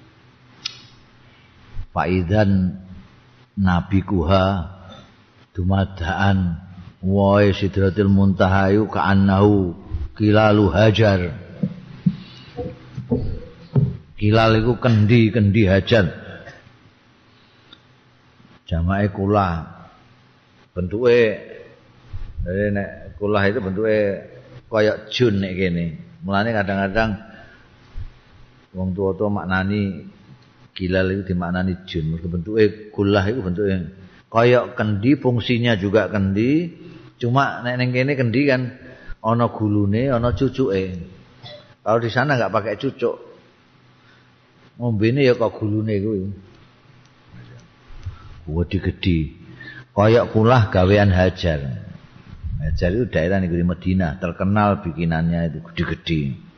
Faidan Nabi kuha dumadaan wae Sidratil Muntaha yu ka'annahu kilalu hajar. Kilal iku kendi-kendi hajar. Jamae kula bentuke dari nek kulah itu bentuknya koyok jun nek kene. Mulane kadang-kadang wong tua-tua maknani Gilal itu dimaknani jin, bentuke gulah itu bentuke kaya kendi, fungsinya juga kendi, cuma nek ning kene kendi kan ana gulune, ana cucuke. Kalau di sana enggak pakai cucuk. Ngombene ya kok gulune kuwi. Wedi gedhi. Kaya kulah gawean Hajar. Hajar itu daerah negeri Madinah, terkenal bikinannya itu gede-gede.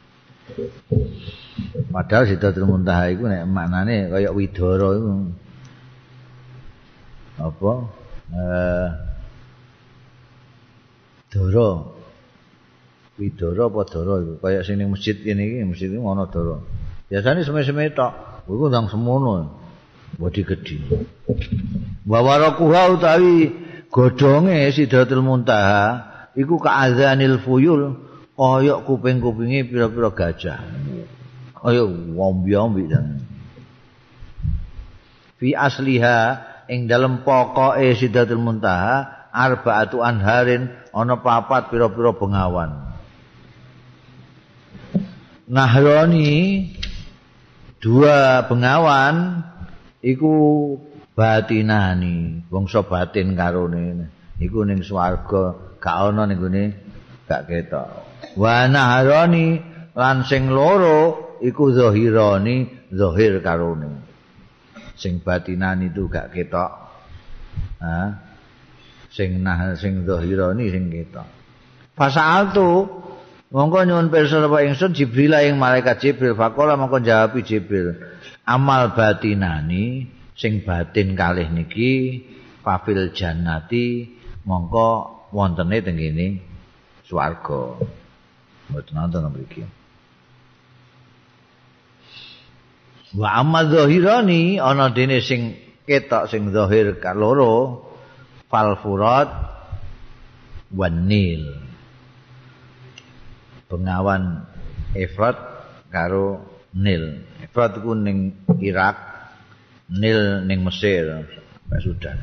Padahal Sidratul Muntaha iku nek maknane kaya widara iku. Apa? Eh Dara. Widara apa dara iku? Kaya sing ning masjid kene iki, masjid iki ana dara. Biasane seme-seme tok. Iku ndang semono. Wedi gedhi. Wa warakuha utawi godhonge Sidratul Muntaha iku ka'adzanil fuyul kaya kuping-kupinge pira-pira gajah. Kaya wombi-wombi dan. Fi asliha ing dalem pokoke Sidratul Muntaha arba'atu anharin ana papat pira-pira bengawan. Nahroni dua bengawan iku batinani, bangsa batin karone. Iku ning swarga gak ana ning gone gak ketok. Wa nahroni lan sing loro iku zahirani, zahir karone. Sing batinani itu gak ketok. Ha? Sing nah sing zahirani sing ketok. Fasa'altu mongko nyuwun pirsa sapa ingsun Jibril ing malaikat Jibril faqala mongko jawab Jibril amal batinani sing batin kalih niki fafil jannati mongko wontene teng kene swarga mboten wonten mriki wa amma zahirani ana dene sing ketok sing zahir kaloro fal furat wanil bengawan Efrat karo Nil. Efrat iku ning Irak, Nil ning Mesir, Pak Sudan.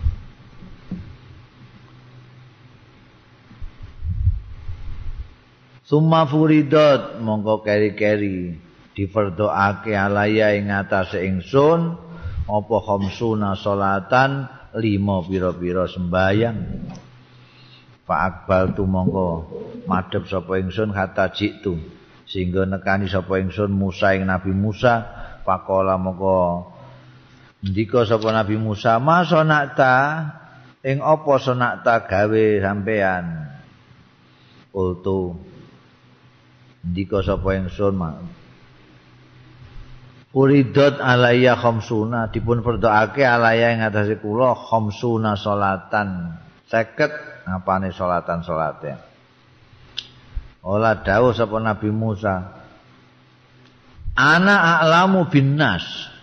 Summa furidat mongko keri-keri difardhoake alaya ing atase ingsun apa khamsuna salatan lima pira-pira sembayang. Fa akbal tu mongko madhep sapa ingsun kata jitu sehingga nekani sapa ingsun Musa ing Nabi Musa faqala mongko ndika sapa Nabi Musa masonakta ing apa sonakta gawe sampean ultu ndika sapa ingsun Uridot alaiya khamsuna dipun fardhoake alaiya ing atase kula khamsuna salatan seket apane salatan salate ola dawuh sapa Nabi Musa ana a'lamu binnas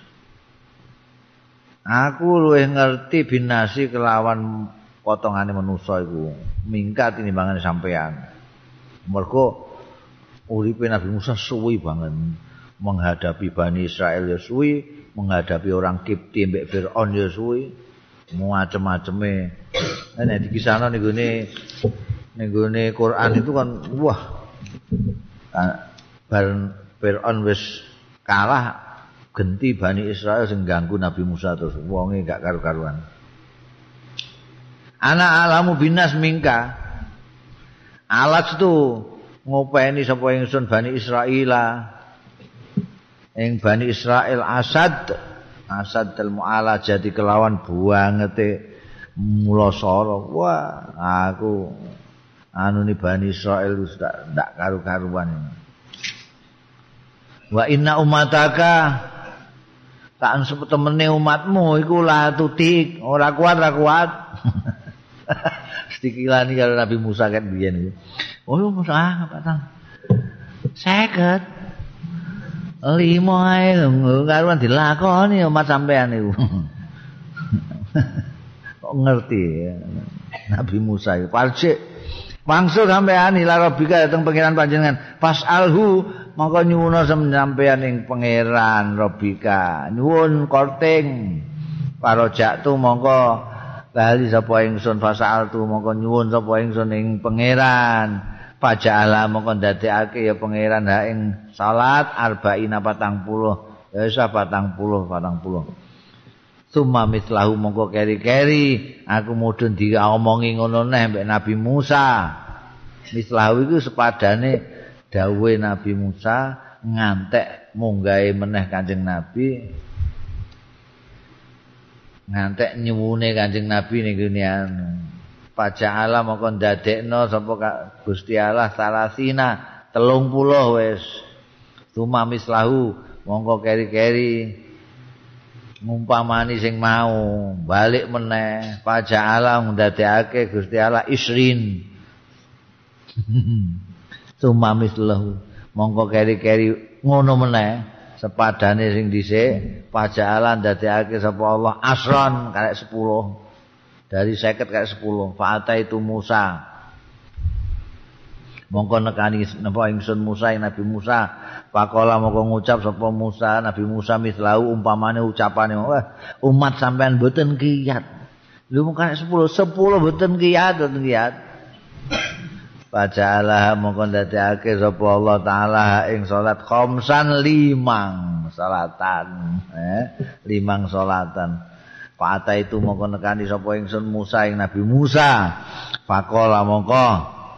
aku luwih ngerti binasi kelawan potongane manusa iku mingkat tinimbangane sampean mergo uripe Nabi Musa suwi banget menghadapi Bani Israel ya suwi menghadapi orang Kipti mbek Firaun ya suwi macem-maceme nek dikisahno ning gone ning gone Quran itu kan wah bar Firaun wis kalah genti Bani Israel sing ganggu Nabi Musa terus wonge gak karu-karuan ana alamu binas mingka alat tu ngopeni sapa ingsun Bani Israil ing Bani Israel Asad Asad al mu'ala jadi kelawan buangete mulasara wah aku anu ni Bani Israil wis ndak karu-karuan wa inna umataka tak setemene umatmu iku la tutik ora kuat ora kuat sedikilani karo Nabi Musa kan biyen iku oh Musa patang seket lima ae karuan dilakoni umat sampean niku. Kok ngerti ya. Nabi Musa iku parcik wangsul sampean ila rabbika dateng pangeran panjenengan fasalhu mongko nyuwun sampean ing pangeran rabbika nyuwun korting parojak tu mongko bali sapa ingsun fasaltu mongko nyuwun sapa ingsun ing pangeran Paja'ala mongko ndadekake ya pangeran ha ing salat arba'ina patang puluh Ya wis patang puluh patang puluh. Summa mislahu mongko keri-keri aku mudhun diomongi ngono neh mbek Nabi Musa. Mislahu iku sepadane dawuhe Nabi Musa ngantek munggahe meneh Kanjeng Nabi. Ngantek nyuwune Kanjeng Nabi ning dunian. Paja'ala mongko ndadekno sapa Gusti Allah salasina telung puluh wis. Summa mislahu mongko keri-keri ngumpamani sing mau balik meneh paja'ala ndadekake Gusti Allah isrin. Summa mislahu mongko keri-keri ngono meneh sepadane sing dhisik paja'ala ndadekake sapa Allah asron karek sepuluh. Dari seket kayak sepuluh. Fa'ata itu Musa. Mongko nekani napa ingsun Musa ing Nabi Musa. Pakola mongko ngucap sapa Musa Nabi Musa mislahu umpamane ucapane wah umat sampean mboten kiyat. Lho mung kayak sepuluh, sepuluh mboten kiyat, mboten kiyat. Paja'alah mongko ndadekake sapa Allah taala ing salat khamsan limang salatan, eh limang salatan. Fa'ata itu mongko nekani sapa ingsun Musa ing Nabi Musa. Faqala mongko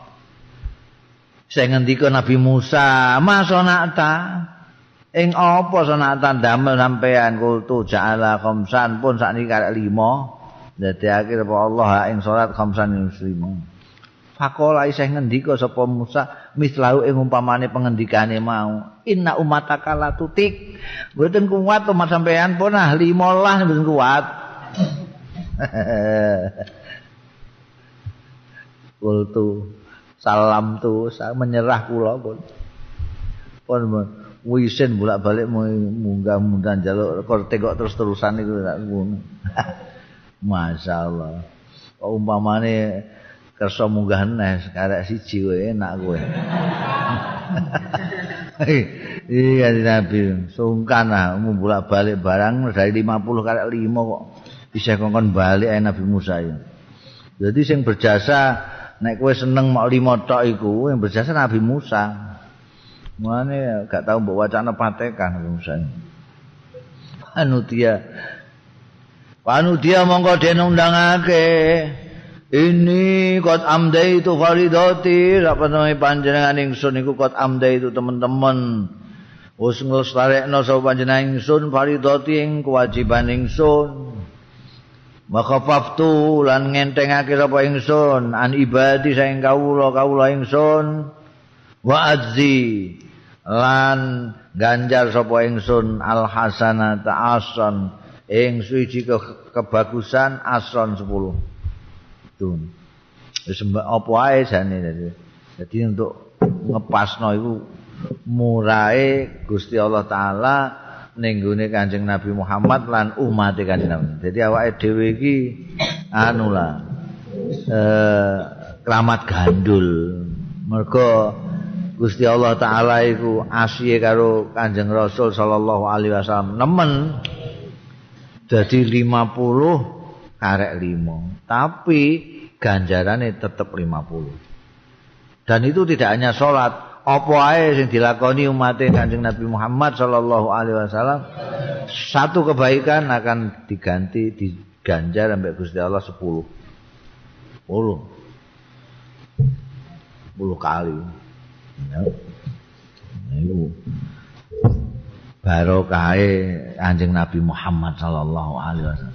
sing ngendika Nabi Musa, "Masonata ing apa sonata damel sampean kultu ja'ala khamsan pun sakniki karek lima." Ndadekake sapa Allah ing salat khamsan lima. Faqala isih ngendika sapa Musa mislahu ing umpamane pengendikane mau. Inna ummataka la tutik. Mboten kuat umat sampean pun ah lima belas mboten kuat. Kultu salam tu saya menyerah kula pun pun wisin bolak-balik munggah-munggah njaluk korte kok terus-terusan iku tak ngono. Masyaallah. Kok umpamane kersa munggah neh karek siji kowe enak kowe. Iya Nabi sungkan ah bolak-balik barang dari lima puluh karek lima kok bisa kongkon balik ae Nabi Musa ya. Jadi sing berjasa nek kowe seneng mok lima tok iku yang berjasa Nabi Musa. Mulane gak tau mbok wacana patekan Nabi Musa. Panutia. Panutia mongko den undangake. Ini kot amdai itu faridati, apa namanya panjenengan ingsun iku kot amdai itu teman-teman. Wis nglestarekno sapa panjenengan ingsun faridati ing kewajiban ingsun. Maka faftu lan ngentengake sapa ingsun an ibadi saing kawula kawula ingsun wa azzi lan ganjar sapa ingsun al hasanata asan ing suci ke kebagusan asan sepuluh. Tun. Wis apa ae jane dadi. Dadi untuk ngepasno iku murahe Gusti Allah taala ning gone Kanjeng Nabi Muhammad lan umat Kanjeng Nabi. Jadi awake dhewe iki anu lah eh keramat gandul. Mergo Gusti Allah taala iku asihe karo Kanjeng Rasul sallallahu alaihi wasallam nemen dadi lima puluh karek lima. Tapi ganjarane tetep lima puluh. Dan itu tidak hanya salat apa ae sing dilakoni umat Kanjeng Nabi Muhammad sallallahu alaihi wasallam satu kebaikan akan diganti diganjar sampai Gusti Allah sepuluh. sepuluh. sepuluh kali. Ya. Niku barokahe Kanjeng Nabi Muhammad sallallahu alaihi wasallam.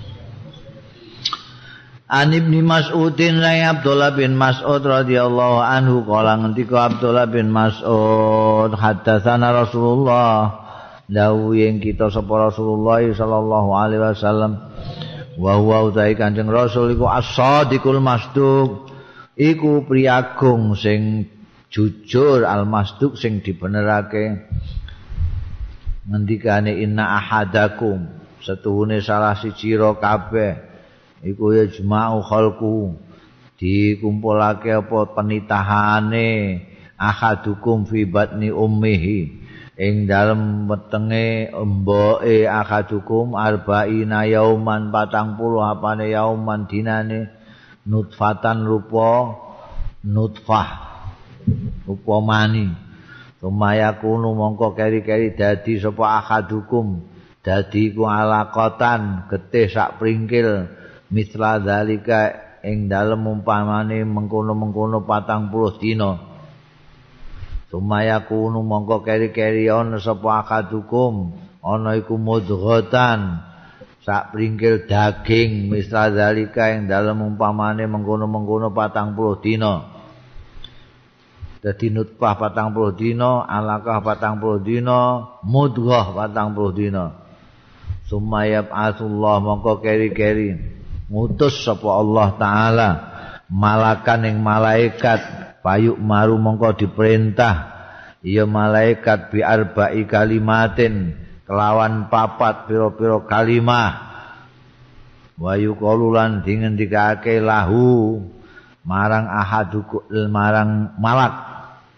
An Ibnu Mas'udin la Abdullah bin Mas'ud radhiyallahu anhu kala ngendika Abdullah bin Mas'ud haddatsana Rasulullah dawuh ing kita sapa Rasulullah sallallahu alaihi wasallam wa huwa utai Kanjeng Rasul iku as-sadiqul masduq iku priagung sing jujur al-masduq sing dibenerake ngendikane inna ahadakum setuhune salah siji ro kabeh iku ya jema'u khalqu dikumpulake apa penitahane ahadukum fi batni ummihi ing dalem wetenge emboke ahadukum arba'ina yauman patang puluh apane yauman dinane nutfatan rupa nutfah rupa mani Sumaya kunu mongko keri-keri dadi sapa ahadukum dadi ku alaqatan getih sak pringkil misla zalika ing dalem umpamane mengkono-mengkono patang puluh dina. Sumaya kunu mongko keri-keri ana sapa ahadukum ana iku mudghatan sak pringkil daging misla zalika ing dalem umpamane mengkono-mengkono patang puluh dina. Dadi nutfah patang puluh dina, alaqah patang puluh dina, mudghah patang puluh dina. Sumayab asullah mongko keri-keri ngutus sapa Allah taala malakan ing malaikat payuk maru mongko diperintah ya malaikat bi arba'i kalimatin kelawan papat pira-pira kalimah wa yuqalulan dingendikake lahu marang ahaduku marang malak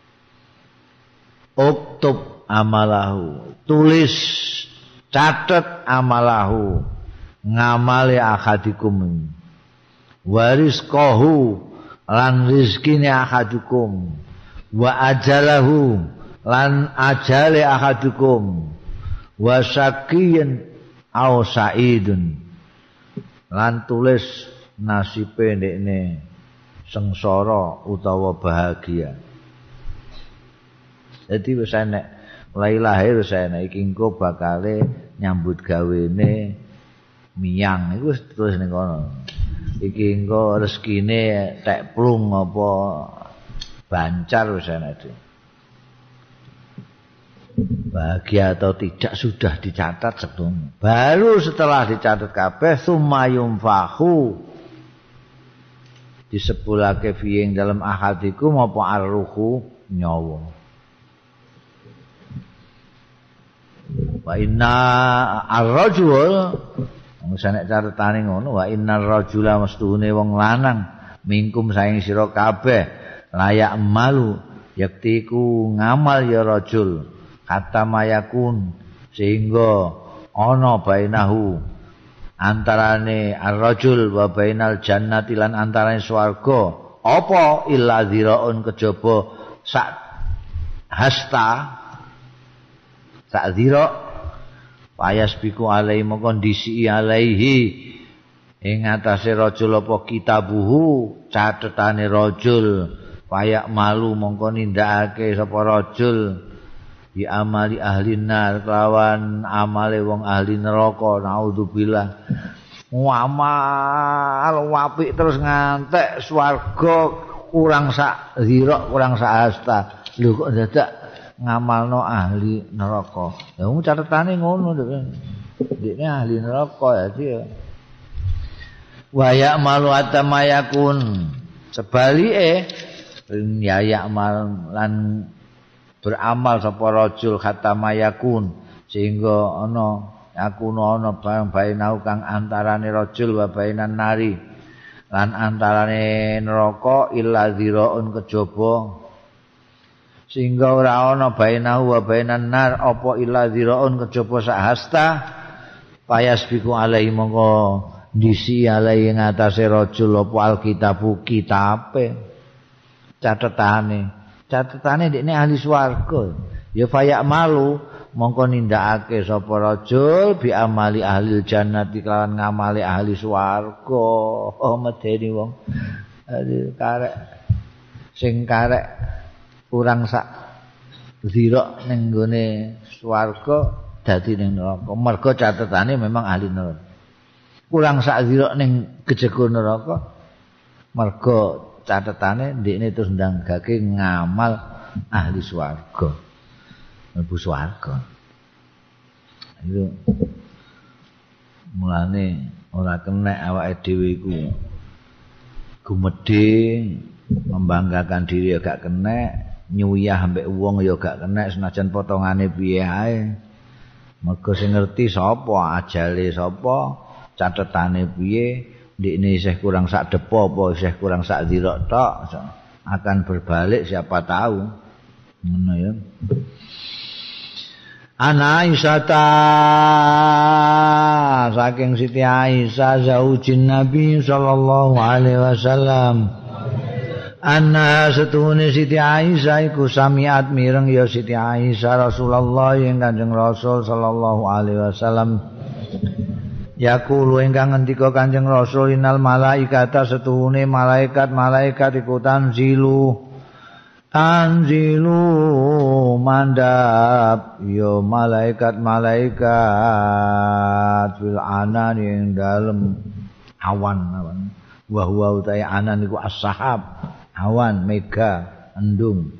uktub amalahu tulis catet amalahu ngamale ahadikum warizqahu lan rizkine ahadukum wa ajalahu lan ajale ahadukum wa syaqiyun aw sa'idun lan tulis nasibe ndekne sengsara utawa bahagia. Jadi wis enek mulai lahir wis enek iki engko bakale nyambut gawene miyang iku wis terus ning kono. Iki engko rezekine tek plung apa bancar wis enek. Bahagia atau tidak sudah dicatat sebelum. Baru setelah dicatat kabeh sumayum fahu disepulake fi ing dalam ahadikum apa arruhu nyawa. Wa inna ar-rajul nek catetane ngono wa innar rajula mestune wong lanang mingkum saing sira kabeh layak malu yaktiku ngamal ya rajul kata mayakun sehingga ana bainahu antarane ar-rajul wa bainal jannati lan antarane swarga apa illa dziraun kejaba sak hasta sak dzira payas biku alaihi kondisi alaihi ing atase rajul apa kitabuhu catetane rajul payak malu mongko nindakake sapa rajul bi amali ahli nar kelawan amale wong ahli neraka naudzubillah ngamal apik terus ngantek swarga kurang sak dzira kurang sak hasta lho kok dadak ngamalno ahli neraka. Ya wong catetane ngono dekne ahli neraka ya dia. Wa ya'malu atamayakun. Sebalike ya ya'mal lan beramal sapa rajul khatamayakun sehingga ana yakuna ana barang bainau kang antarane rajul wa bainan nari lan antarane neraka illa dziraun kejaba sehingga ora ana bainahu wa bainan nar apa illa dziraun kejaba sak hasta payas biku alaihi mongko disi alaihi ngatasé rajul apa alkitabu kitabe catetane catetane dekne ahli swarga ya fayak malu mongko nindakake sapa rajul bi amali ahli jannati kelawan ngamali ahli swarga oh medeni wong karek sing karek kurang sak zira ning gone swarga dadi ning neraka mergo catetane memang ahli neraka kurang sak zira ning gejego neraka mergo catetane ndekne terus ndanggake ngamal ahli swarga mlebu swarga itu mulane ora kenek awake dhewe iku gumedhe membanggakan diri ya gak kenek nyuyah ambek wong ya gak kenek senajan potongane piye ae mergo sing ngerti sapa ajale sapa catetane piye ndekne isih kurang sak depo apa isih kurang sak dzira tok akan berbalik siapa tahu ngono ya Ana Aisyata saking Siti Aisyah zaujin Nabi sallallahu alaihi wasallam Anna setuhune Siti Aisyah iku samiat mireng ya Siti Aisyah Rasulullah yang Kanjeng Rasul sallallahu alaihi wasallam yaqulu ingkang ngendika Kanjeng Rasul innal malaikata setuhune malaikat-malaikat iku tanzilu tanzilu mandap ya malaikat-malaikat fil anan yang dalem awan-awan wa huwa utai anan iku as-sahab awan mega endung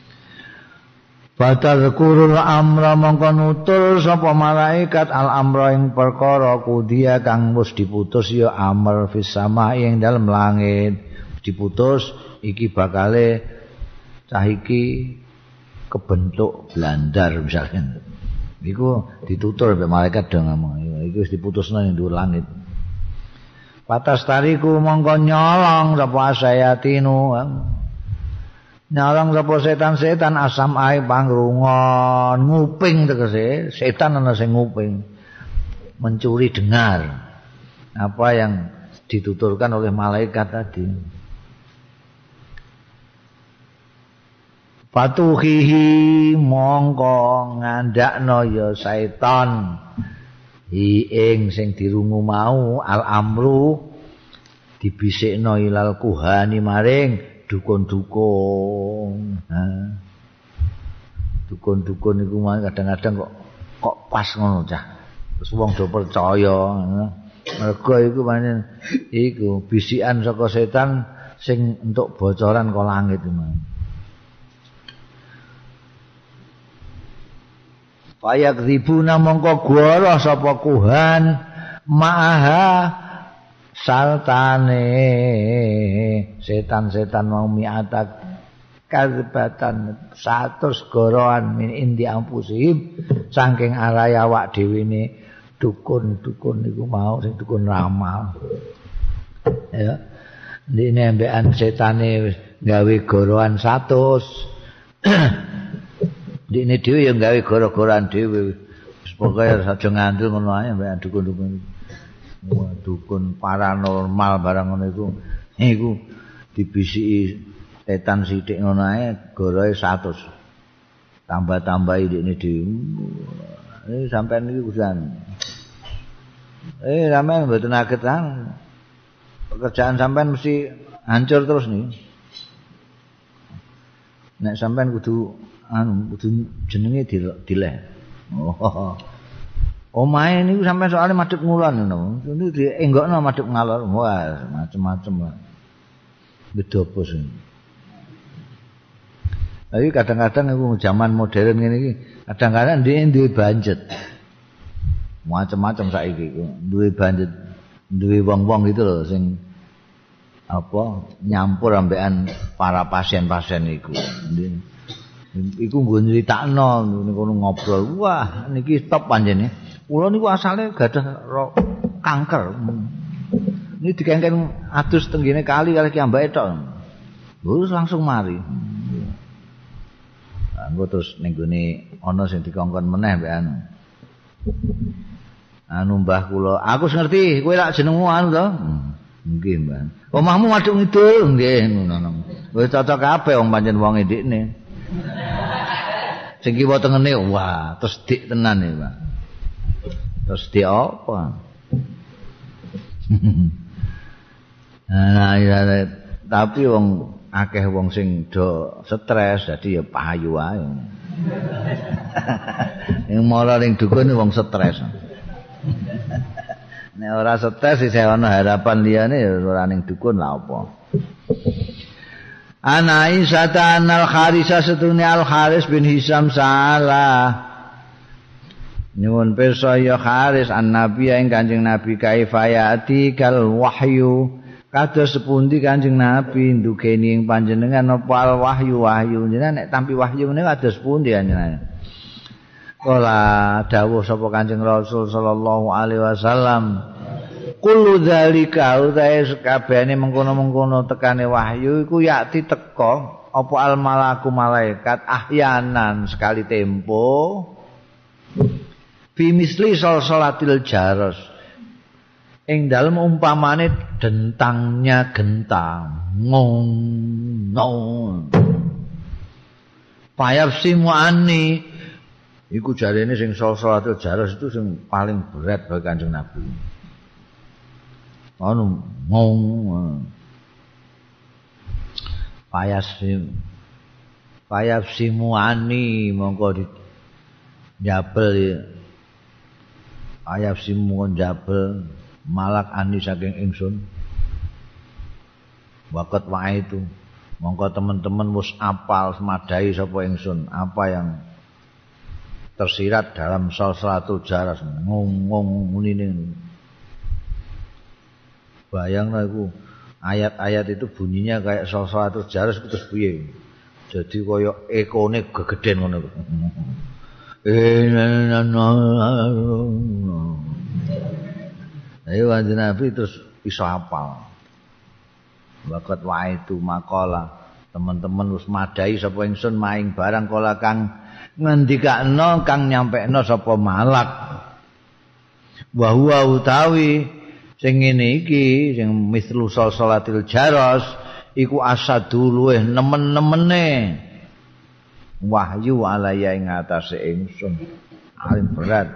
fatadhkurul amra mongko nutul sapa malaikat al amra ing perkara kudia kang wis diputus ya amr fis sama ing dalem langit diputus iki bakale cah iki kebentuk blandar misalkan iku ditutur mbek malaikat do ngomong iku wis diputusno ning dhuwur langit. Patas tariku mongko nyolong sapa sayatinu nyolong sapa setan-setan asam ae pangrungon nguping tegese setan ana sing nguping mencuri dengar apa yang dituturkan oleh malaikat tadi. Patuhihi mongko ngandakno ya setan ing sing dirungu mau al amru dibisikno ilal kuhani maring dukun-dukun. Ha. Dukun-dukun iku kadang-kadang kok kok pas ngono cah. Terus wong do percaya. Mergo iku pancen iku bisikan saka setan sing entuk bocoran kok langit iku. Payak ribuna mongko goro sapa kuhan ma'aha saltane setan-setan mau miatak kadzbatan satus goroan min indi ampusihim saking arai awak dhewe ne dukun-dukun niku mau sing dukun ramal ya dene ambekan setane gawe goroan seratus dene dhewe ya gawe goro-goran dhewe. Pokoke aja ngandel ngono ae mbek dukun-dukun. Wah, dukun paranormal barang ngono iku. Iku dibisiki setan sithik ngono ae goroe seratus. Tambah-tambahi dene dhewe. Eh sampean iki kusan. Eh sampean mboten agetan. Pekerjaan sampean mesti hancur terus nih. Nek sampean kudu anu kudu jenenge dileh. Oh. Omahe niku sampean soalnya madhep ngulon ngono. Niku dienggokno madhep ngalor. Wah, macem-macem. Beda bos. Tapi kadang-kadang iku zaman modern ngene iki, kadang-kadang dia duwe budget. Macem-macem saiki iku, duwe budget, duwe wong-wong gitu loh sing apa nyampur ambekan para pasien-pasien iku. Iku nggo nyritakno niku ngobrol. Wah, niki top panjenengan. Kula niku asale gadah kanker. Ini dikengken adus tenggene kali kali kiambake tok. Terus langsung mari. Anggo terus ning gone ana sing dikongkon meneh mbek anu. Anu mbah kula, aku ngerti kowe lak jenengmu anu to? Nggih, Mbah. Omahmu madhep ngidul nggih ngono. Wis cocok kabeh wong pancen wong ndikne. Sing kiwa tengene wah, terus dik tenan ya, Pak. Terus dik apa? Nah, ya, tapi wong akeh wong sing do stres dadi ya payu wae. Yang mara ning dukun wong stres. Nek ora stres isih ana harapan liyane ya ora ning dukun lha apa. Ana Aisyah al Harisa setune Al Haris bin Hisam salah. Nyuwun pirsa ya Haris an Nabi ing Kanjeng Nabi kaifayati kal wahyu. Kados sepundi Kanjeng Nabi ndukeni ing panjenengan apa al wahyu wahyu. Jenengan nek tampi wahyu ngene kados pundi panjenengan. Kala dawuh sapa Kanjeng Rasul sallallahu alaihi wasallam. Kullu dzalika utahe sakabehane mengkono-mengkono tekane wahyu iku yakti teka apa al malaku malaikat ahyanan sekali tempo fi misli salatil jaros ing dalem umpamane dentangnya gentang ngong ngong payafsimu ani iku jarene sing salatul jaros itu sing paling berat bagi Kanjeng Nabi. Anu ngong payafsim payafsimu ani mongko di jabel ya. Payafsimu jabel malak ani saking ingsun. Wakat wae itu mongko teman-teman wis apal semadai sapa ingsun apa yang tersirat dalam salatul jaras ngong-ngong munine. Bayangna iku ayat-ayat itu bunyinya kayak salatul jaras terus piye. Jadi kaya ekone gegeden ngono. Ayo Kanjeng Nabi terus iso hafal. Wakat wae itu makalah teman-teman wis madai sapa ingsun maing barang kala kang ngendikakno kang nyampekno sapa malak. Wa huwa utawi sing ngene iki sing mislu salatil jaros iku asadu luweh nemen-nemene wahyu alaya ing atase ingsun paling berat.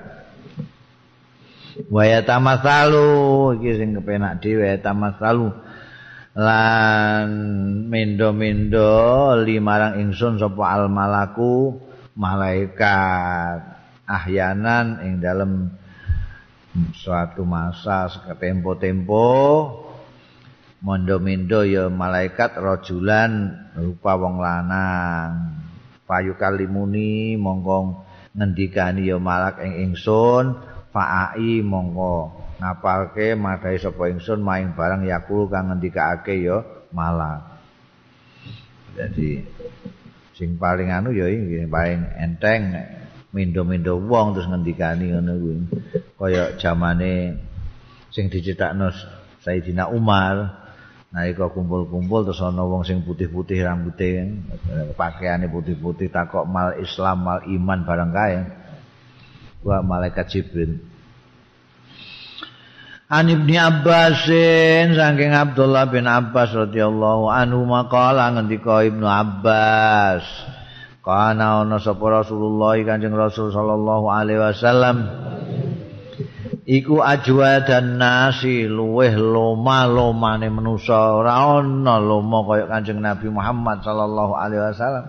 Wa yatamatsalu iki sing kepenak dhewe yatamatsalu lan mendo-mendo limarang ingsun sapa al malaku malaikat ahyanan ing dalem suatu masa seketempo-tempo mondo-mendo ya malaikat rajulan rupa wong lanang payu kalimuni mongko ngendikani ya malak ing ingsun faai mongko ngapalke madai sapa ingsun maing barang yakul kang ngendikake ya malak. Jadi sing paling anu ya iki paling enteng mindo-mindo wong terus ngendikani ngono kuwi. Kaya zamane sing dicithakno Sayyidina Umar nalika kumpul-kumpul terus ana wong sing putih-putih rambuté, pakaiane putih-putih takok mal Islam mal iman barang kae. Wa malaikat Jibril. An Ibnu Abbasin saking Abdullah bin Abbas radhiyallahu anhu maqala ngendika Ibnu Abbas kana ana sapa Rasulullah Kanjeng Rasul sallallahu alaihi wasallam iku ajwa dan nasi luweh loma-lomane manusa ora ana loma kaya Kanjeng Nabi Muhammad sallallahu alaihi wasallam.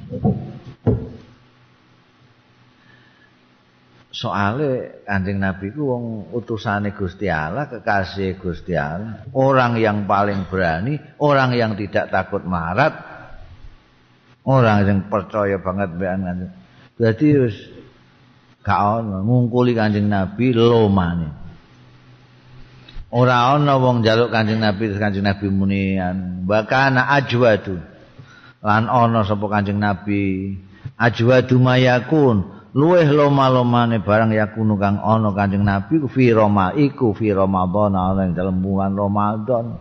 Soale Kanjeng Nabi ku wong utusane Gusti Allah, kekasih Gusti Allah, orang yang paling berani, orang yang tidak takut marat, orang yang percaya banget mbek Kanjeng. Dadi wis gak ono ngungkuli Kanjeng Nabi lomane. Ora ana wong njaluk Kanjeng Nabi terus Kanjeng Nabi munian, bakana ajwadu. Lan ana sapa Kanjeng Nabi ajwadu mayakun luweh loma-lomane barang yakunu kang ana Kanjeng Nabi ku fi Roma iku fi Ramadan ana ing dalem bulan Ramadan.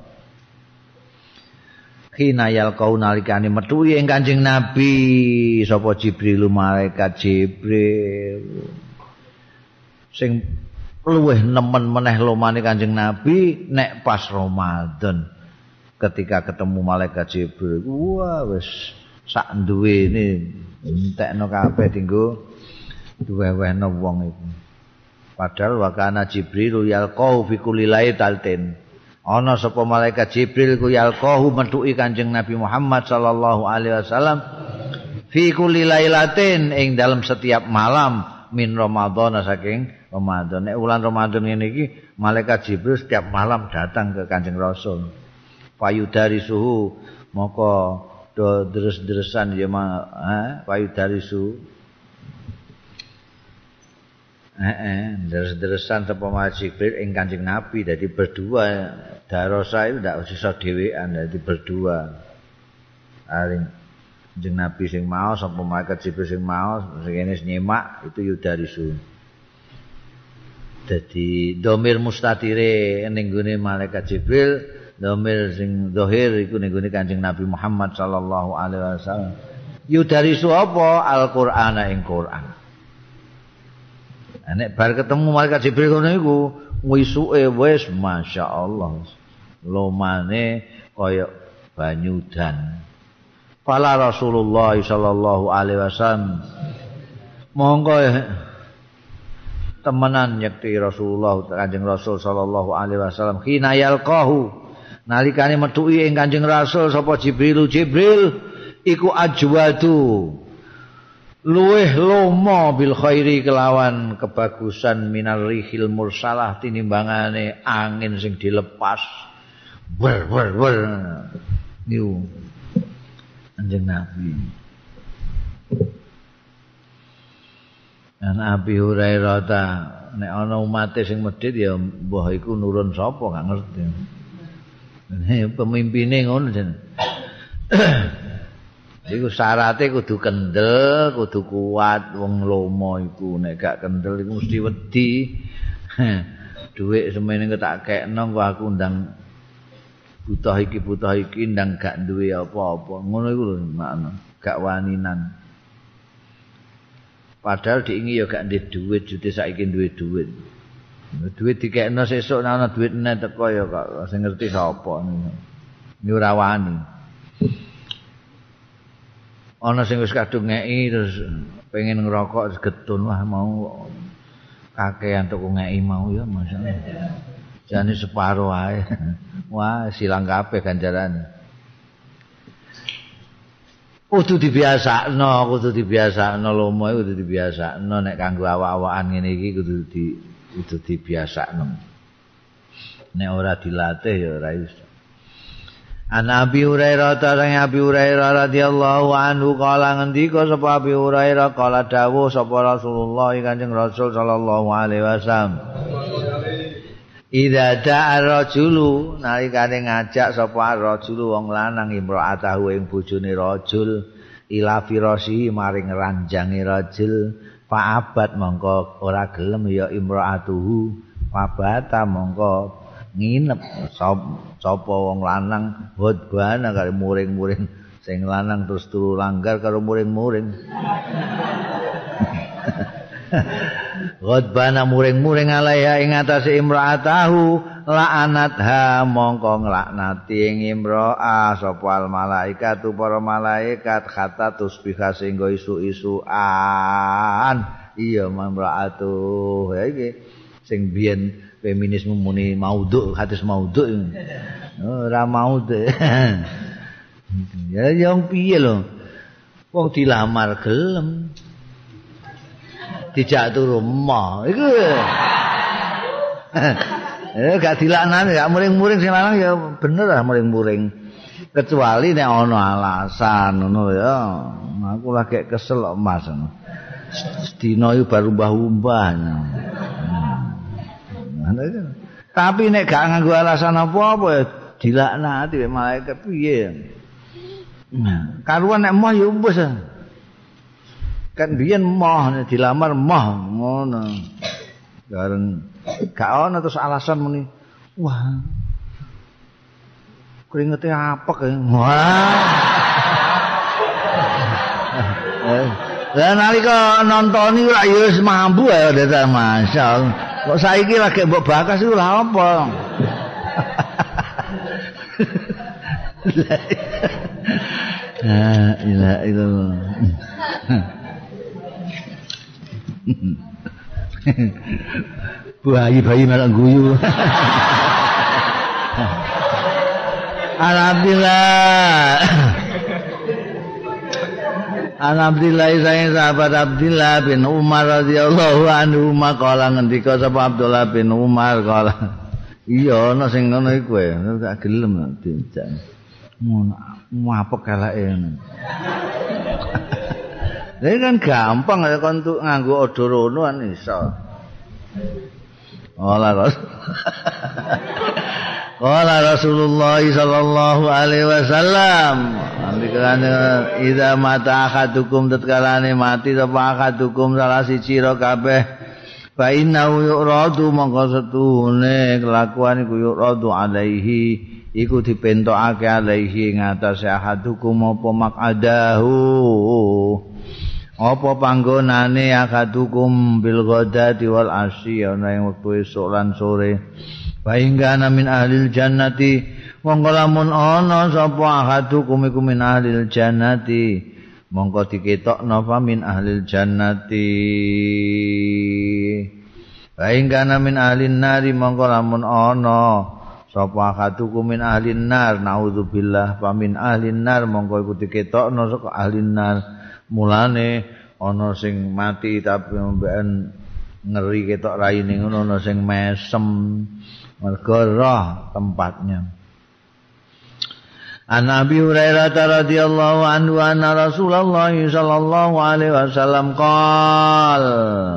Khina yalqau nalikane metu ing Kanjeng Nabi sapa Jibril malaikat Jibril. Sing luweh nemen meneh lomane Kanjeng Nabi nek pas Ramadan. Ketika ketemu malaikat Jibril, wah wis sak duwene entekno kabeh dinggo duwe-wehno wong iku. Padahal wakana Jibril yalqau fi kulli lailatin. Ana sapa malaikat Jibril ku yalqahu metuki Kanjeng Nabi Muhammad sallallahu alaihi wasallam fi kulli lailatin ing dalam setiap malam min Ramadan saking Ramadan. Nek wulan Ramadan ngene iki malaikat Jibril setiap malam datang ke Kanjeng Rasul. Payudari suhu moko do deres-deresan ya ha payudari suhu Heeh, deres-deresan sapa Mas Jibril ing Kanjeng Nabi dadi berdua. Darosa itu ndak iso dhewean dadi berdua. Aring Kanjeng Nabi sing maos sapa malaikat Jibril sing maos sing kene nyemak itu yudarisu. Dadi domir mustatire ning gone malaikat Jibril, domir sing zahir iku ning gone Kanjeng Nabi Muhammad sallallahu alaihi wasallam. Yudarisu apa? Al-Qur'ana ing Qur'an. Nek bar ketemu malaikat Jibril ngono iku wisuke wis masyaallah lomane kaya banyu dan. Fala Rasulullah sallallahu alaihi wasallam monggo temenan yakti Rasulullah Kanjeng Rasul sallallahu alaihi wasallam khina yalqahu nalikane metuki ing Kanjeng Rasul sapa Jibril Jibril iku ajwadu luweh lomo bil khairi kelawan kebagusan minar rihil mursalah tinimbangane angin sing dilepas wer wer wer niku Kanjeng Nabi. Ana Abi Hurairah ta nek ana umate sing medhit ya mbah iku nurun sapa gak ngerti. Nek pemimpine ngono jen. Iku syaraté kudu kendel, kudu kuat wong lomo iku nek gak kendel iku mesti wedi. Dhuwit semene tak kekno kok aku ndang butuh iki butuh iki ndang gak duwe apa-apa. Ngono iku lho makna, gak waninan. Padahal diingi ya gak ndek duit, jute saiki duwe duit. Duit dikekno sesuk nek ana duit meneh teko ya kok sing ngerti sapa niku. Ini ora wani. Ana sing wis kadung ngeki terus pengen ngerokok terus getun wah mau kakean tuku ngeki mau ya masyaallah. Jane separo ae. Wah, silang kabeh ganjarane. Kudu dibiasakno, kudu dibiasakno lomo iku kudu dibiasakno nek kanggo awak-awakan ngene iki kudu di kudu dibiasakno. Nek ora dilatih ya ora iso. An Abi Hurairah tarang Abi Hurairah radhiyallahu anhu kala ngendika sapa Abi Hurairah kala dawuh sapa Rasulullah Kanjeng Rasul sallallahu alaihi wasallam. Idza da'a rajulu nalikane ngajak sapa rajulu wong lanang imra'atahu ing bojone rajul ila firasi maring ranjange rajul fa'abat mongko ora gelem ya imra'atuhu fabata mongko nginep sapa wong lanang hodbana karo muring-muring sing lanang terus turu langgar karo muring-muring. Ghadbana muring-muring alaiha ing atase imra'atahu la'anatha mongko nglaknati ing imra'ah sapa al malaikatu para malaikat kata tusbiha sehingga isu-isuan iya imra'atu ya iki sing biyen feminisme muni maudhu hadis maudhu ora maudhu ya yang piye lho wong dilamar gelem dijak turu emoh iku eh gak dilaknani gak muring-muring sing lanang ya bener lah muring-muring kecuali nek ana alasan ngono ya aku lagi kesel kok Mas sedina iki baru mbah-mbah hmm. Tapi nek gak nganggo alasan apa-apa ya dilaknati wek malaikat piye nah karuan nek emoh ya wis kan biyen moh dilamar moh ngono. Bareng gak ono terus alasan muni. Wah. Keringete apek ya. Wah. Lah nalika nonton iku lak ya wis mampu ya dadi masyaallah. Kok saiki lagi mbok bakas iku lha apa? La ilaha illallah. Bayi-bayi malah guyu. Alhamdulillah. Alhamdulillah saya sahabat Abdullah bin Umar radhiyallahu anhu maqala ngendika sapa Abdullah bin Umar kala. Iya ana sing ngono iku ya, gak gelem dijak. Ngono apek eleke. Ini kan gampang ya kan untuk nganggo odorono kan iso. Ola Rasul. Ola Rasulullah sallallahu alaihi wasallam. Andikane idza mata akadukum tatkalane mati sapa akadukum salah siji ro kabeh. Fa innahu yuradu mongko setune kelakuan iku yuradu alaihi iku dipentokake alaihi ing atase akadukum apa maqadahu. apa panggonane akadukum bil ghadati wal asyi ana ing wektu esuk lan sore bahingga min ahlil jannati mongko lamun ana sapa akadukum iku min ahlil jannati mongko diketokno fa min ahlil jannati bahingga min ahlin nari mongko lamun ana sapa akadukum min ahlin nar naudzubillah fa min ahlin nar mongko iku diketokno saka ahlin nar. Mulane ana sing mati tapi mben ngeri ketok raine ngono, ana sing mesem mergo roh tempatnya. An Abi Hurairah radhiyallahu anhu anna Rasulullah sallallahu alaihi wasallam qala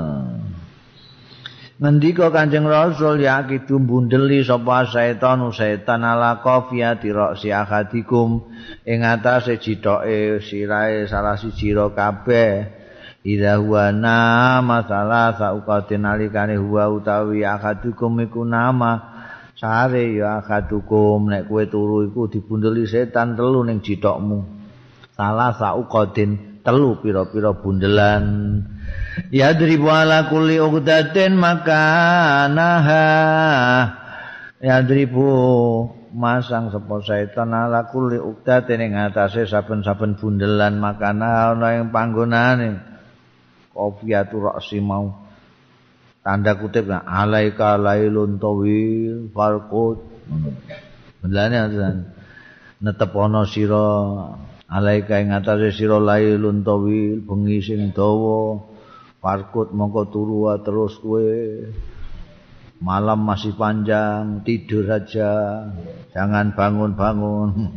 ngendika Kanjeng Rasul ya kidum bundeli sapa setan setan ala qafiyati ra'si ahadikum ing atase jithoke sirahe salah siji ro kabeh ida huwa nama salah saukatin alikane huwa utawi akadukum iku nama sare ya akadukum nek kowe turu iku dibundeli setan telu ning jithokmu salah saukatin telu pira-pira bundelan ya dribu ala kulli uqdatin makanaha ya dribu masang sapa setan ala kulli uqdatin ing atase saben-saben bundelan makana ana ing panggonane qafiyatu ra'si mau tanda kutip nah, alaika lailun tawil farqut bundelane netep ana sira alaika ing atase sira lailun tawil bengi sing dawa farkut mongko turu terus kowe malam masih panjang tidur saja jangan bangun-bangun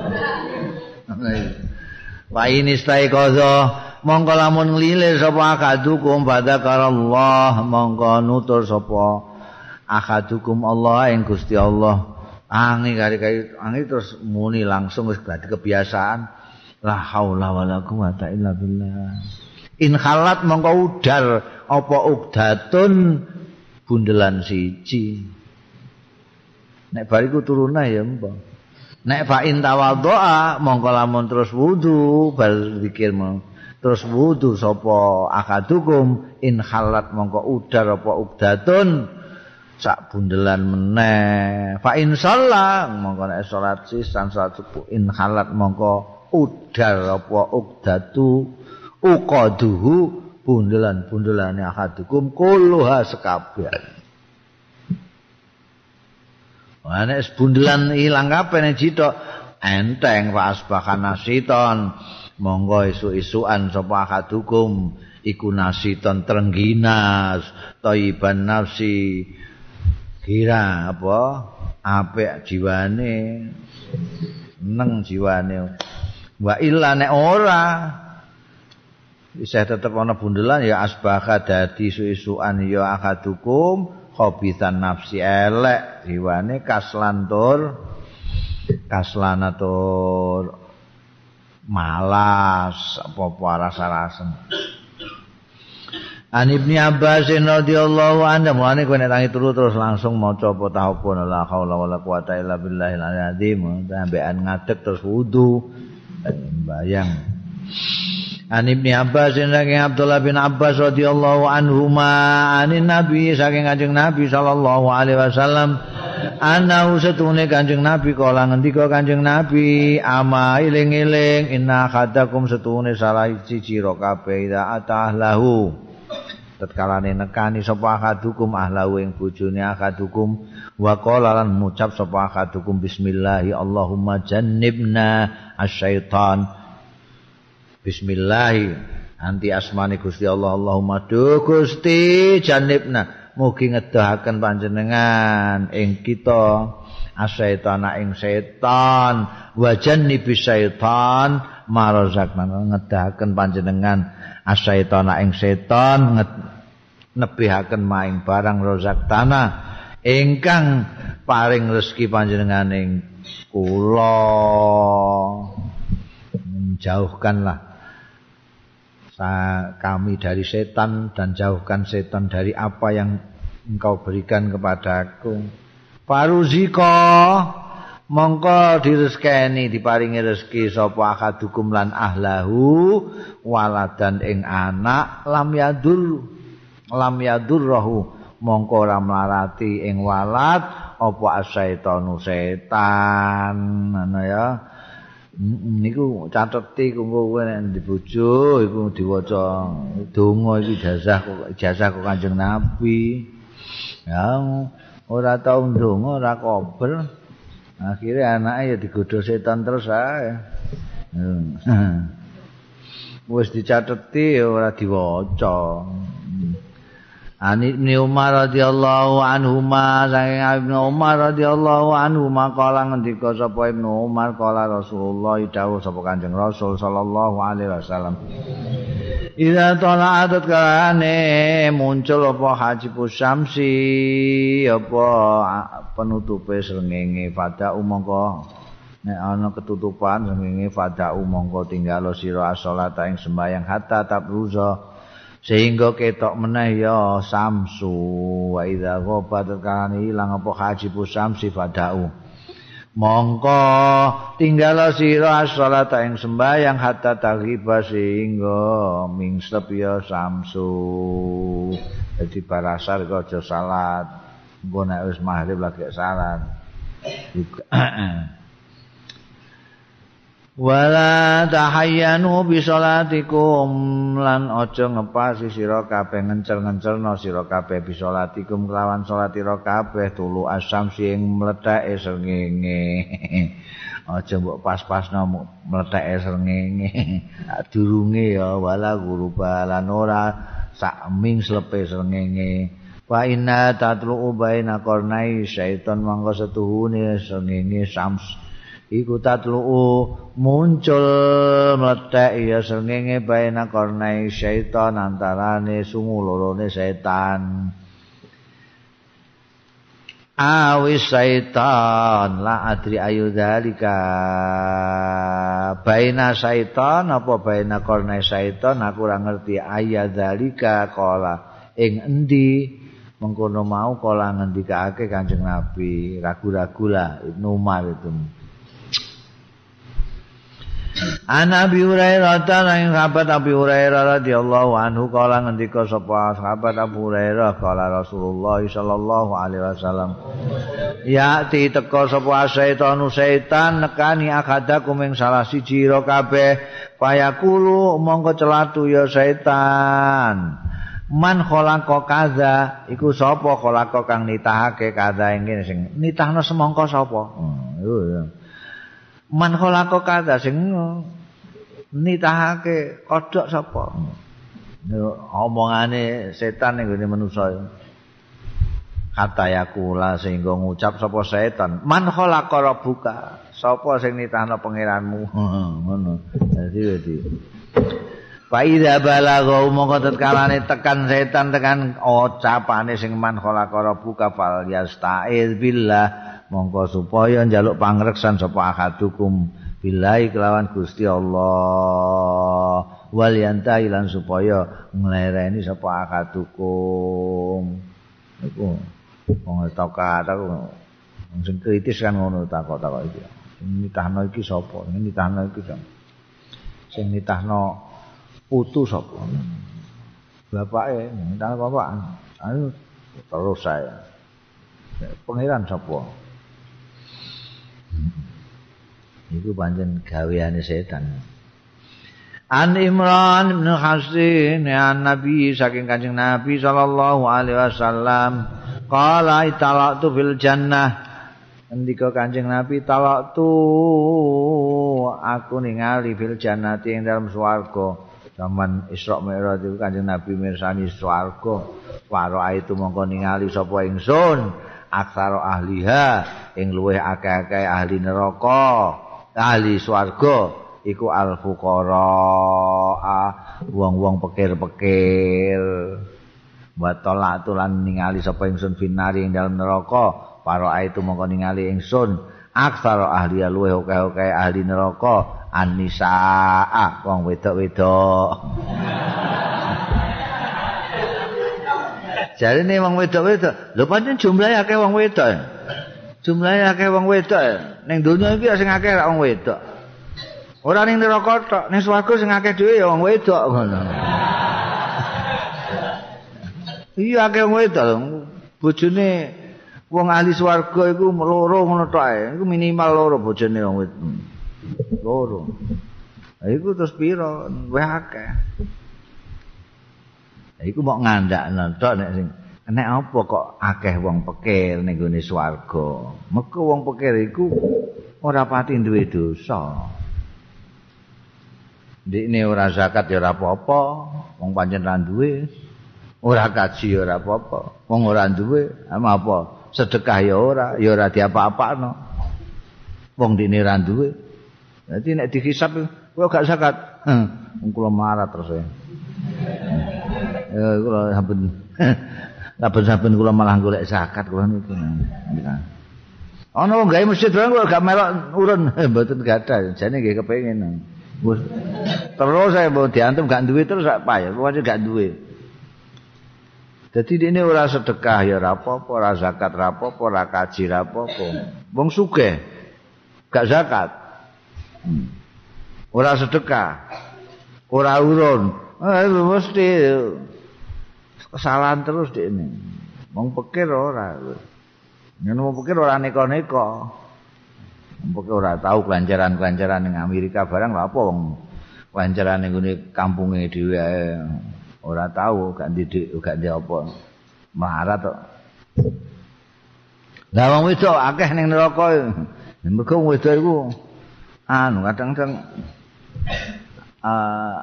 wa ini staiqadha mongko lamun nglilir sapa akadukum badzakarallah mongko nutur sapa akadukum Allah ing Gusti Allah angi kari-kari angi terus muni langsung wis dadi kebiasaan la haula wala quwata illa billah. In khalat mongko udar apa ukdatun bundelan siji. Nek bariku turuna ya mbah. Nek fa in tawaddoa mongko lamun terus wudu bar zikir terus wudu sapa akadukum in khalat mongko udar apa ukdatun sak bundelan meneh. Fa in shalla mongko nek salat sisan salat subuh in khalat mongko udar apa ukdatu uqaduhu bundelan-bundelane akadukum kulluha sekabeh. Wah nek bundelan ilang kabeh nek jithok enteng fa asbahan nasiton monggo isuk-isukan sapa akadukum iku nasiton trengginas thayyiban nafsi kira apa apik jiwane neng jiwane wa illa nek ora bisa tetep ana bundelan ya asbaha dadi isu-isukan ya akadukum khabisan nafsi elek jiwane kaslan tur kaslanatur malas apa-apa rasa-rasen. An Ibnu Abbas radhiyallahu anhu mulane kowe nek tangi turu terus langsung maca apa tahapun la haula wala quwata illa billahil azim sampean ngadeg terus wudu bayang. An Ibnu Abbas saking Abdullah bin Abbas radhiyallahu anhuma anin Nabi saking Kanjeng Nabi sallallahu alaihi wasallam ana usatune Kanjeng Nabi kala ngendika Kanjeng Nabi ama iling-iling inna khadakum setune salah siji ro kabeh ida atahlahu tatkalane nekani sapa akadukum ahlahu ing bojone akadukum wa qala lan ngucap sapa akadukum bismillah Allahumma jannibna asyaitan bismillah anti asmani Gusti Allah Allahumma do Gusti jannibna mugi ngedahaken panjenengan ing kita asyaitana ing setan wa jannibis syaitan marazakna ngedahaken panjenengan asyaitana ing setan nebihaken maing barang rozak tanah ingkang paring rezeki panjenengan ing kula menjauhkanlah kami dari setan dan jauhkan setan dari apa yang engkau berikan kepadaku. Paruziko mongko direzekeni diparingi rezeki sapa akadukum lan ahlahu waladan ing anak lam yadur lam yadurrahu mongko ora mlarati ing walad apa asyaitanu setan ngono ya. Niku cateti kanggo kowe nek dibojo iku diwaca donga iki ijazah ijazah kok Kanjeng Nabi. Ya ora tau ndonga ora kobel. Akhirnya anake ya digodho setan terus ae. Wis dicateti ya ora diwaca. Ani Ibnu Umar radhiyallahu anhuma saking Ibnu Umar radhiyallahu anhuma kala ngendika sapa Ibnu Umar kala Rasulullah dawuh sapa Kanjeng Rasul sallallahu alaihi wasallam Ida tala'at kalane muncul apa hajibus syamsi apa penutupe srengenge fada umangka nek ana ketutupan srengenge fada umangka tinggal sira salat ing sembahyang hatta tabruza sehingga ketok meneh ya samsu wa idza ghabat kalane ilang apa hajibus syamsi fada'u mongko tinggal sira salat ing sembahyang hatta taghiba sehingga mingslep ya samsu dadi barasar kok aja salat engko nek wis maghrib lagi salat wala tahayyanu bi salatikum lan aja ngepasi sira kabeh ngencel-ngencelno sira kabeh bi salatikum kelawan salat sira kabeh tulu asyamsi ing mletheke srengenge aja mbok pas-pasno mletheke srengenge durunge ya wala guruba lan ora sak ming slepe srengenge wa inna tatlu baina qarnai syaiton mangko setuhune srengenge sams iku tatlu muncul mlethek ya srengenge baina qarnai syaiton antarane sungu lorone setan awis syaiton la adri ayu dzalika baina syaiton apa baina qarnai syaiton aku ora ngerti ayat dzalika kala ing endi mengkono mau kala ngendikake Kanjeng Nabi ragu-ragu lah Ibnu Umar itu Ana Abi Hurairah lan sahabat Abi Hurairah radhiyallahu anhu kala ngendika sapa sahabat Abu Hurairah kala Rasulullah sallallahu alaihi wasallam ya ti teka sapa setan setan nekani akadakum ing salah siji ira kabeh payakulu mongko celatu ya setan man khalaqa kaza iku sapa khalaqa kang nitahake kaza ing kene sing nitahno semangka sapa hmm, ya man khalaqa kaza sing nitahake kodhok sapa omongane setan ning gone manusa kata yakula sehingga ngucap sapa setan man khalaqa rabbuka sapa sing nitahno pangeranmu ngono dadi dadi fa idza balagha mongko tetkalane tekan setan tekan ucapane sing man khalaqa rabbuka fal yastaiz billah mongko supaya njaluk pangreksan sapa akadukum billahi kelawan Gusti Allah wal yantahi lan supaya nglereni sapa akadukum iku wong takok aku sing kritis kan ngono takok-takok iki sing nitahno iki sapa sing nitahno iki sapa sing nitahno putu sapa bapake nitahno bapak ayo terus saya pangeran sapa itu pancen gaweane setan. An Imran bin Hasin ya Nabi saking Kanjeng Nabi sallallahu alaihi wasallam qala italaqtu fil jannah ngendika Kanjeng Nabi talaqtu aku ningali fil jannati ing dalam swarga zaman Isra Mi'raj itu Kanjeng Nabi mirsani swarga waro itu mongko ningali sapa ingsun aksara ahliha ing luweh akeh-akeh ahli neraka ahli swarga iku al fuqara wong-wong pekir-pekir wa talatu lan ningali sapa ingsun finari ing dalem neraka para itu mongko ningali ingsun aksara ahli luweh akeh-akeh ahli neraka an-nisaa wong wedok-wedok jarine wong wedok-wedok lho pancen jumlahe akeh wong wedok Jumlahe akeh wong wedok. Ning donya iki sing akeh ra wong wedok. Ora ning neraka tok, ning swarga sing akeh dhewe ya wong wedok ngono. Iya akeh wong wedok. Bojone wong ahli swarga iku loro ngono tok ae. Iku minimal loro bojone wong wedok. Loro. Lah iku terus pira? Wis akeh. Lah iku mok ngandakno tok nek sing nek apa kok akeh wong pikir ning gone swarga. Mergo wong pikir iku ora pati duwe dosa. Ndekne ora zakat ya ora apa-apa, wong pancen ra duwe. Ora kaji ya ora apa-apa, wong ora duwe, ama apa? Sedekah ya ora, ya ora diapa-apakno. Wong dene ra duwe. Dadi nek dihisab kowe gak zakat, wong kula marah terus ya. Ya kula saben saben-saben kula malah golek zakat kula niku. Ana wong gawe masjid kula gak melok urun, mboten gadah, jane nggih kepengin. Wes terus saya mau diantem gak duwe terus sak payah, wae gak duwe. Dadi dene ora sedekah ya ora apa-apa, ora zakat ora apa-apa, ora kaji ora apa-apa. Wong sugih gak zakat. Hmm. Ora sedekah. Ora urun. Eh mesti kesalahan terus dekne. Wong pikir ora. Yen wong pikir ora neko-neko. Mbok ora tahu kelancaran-kelancaran ning Amerika barang lha apa wong kelancaran ning ngene kampunge dhewe ae ora tahu gak didik gak ndek apa melarat kok. Lah wong wedok akeh ning neraka. Mergo wong wedok iku anu kadang-kadang uh,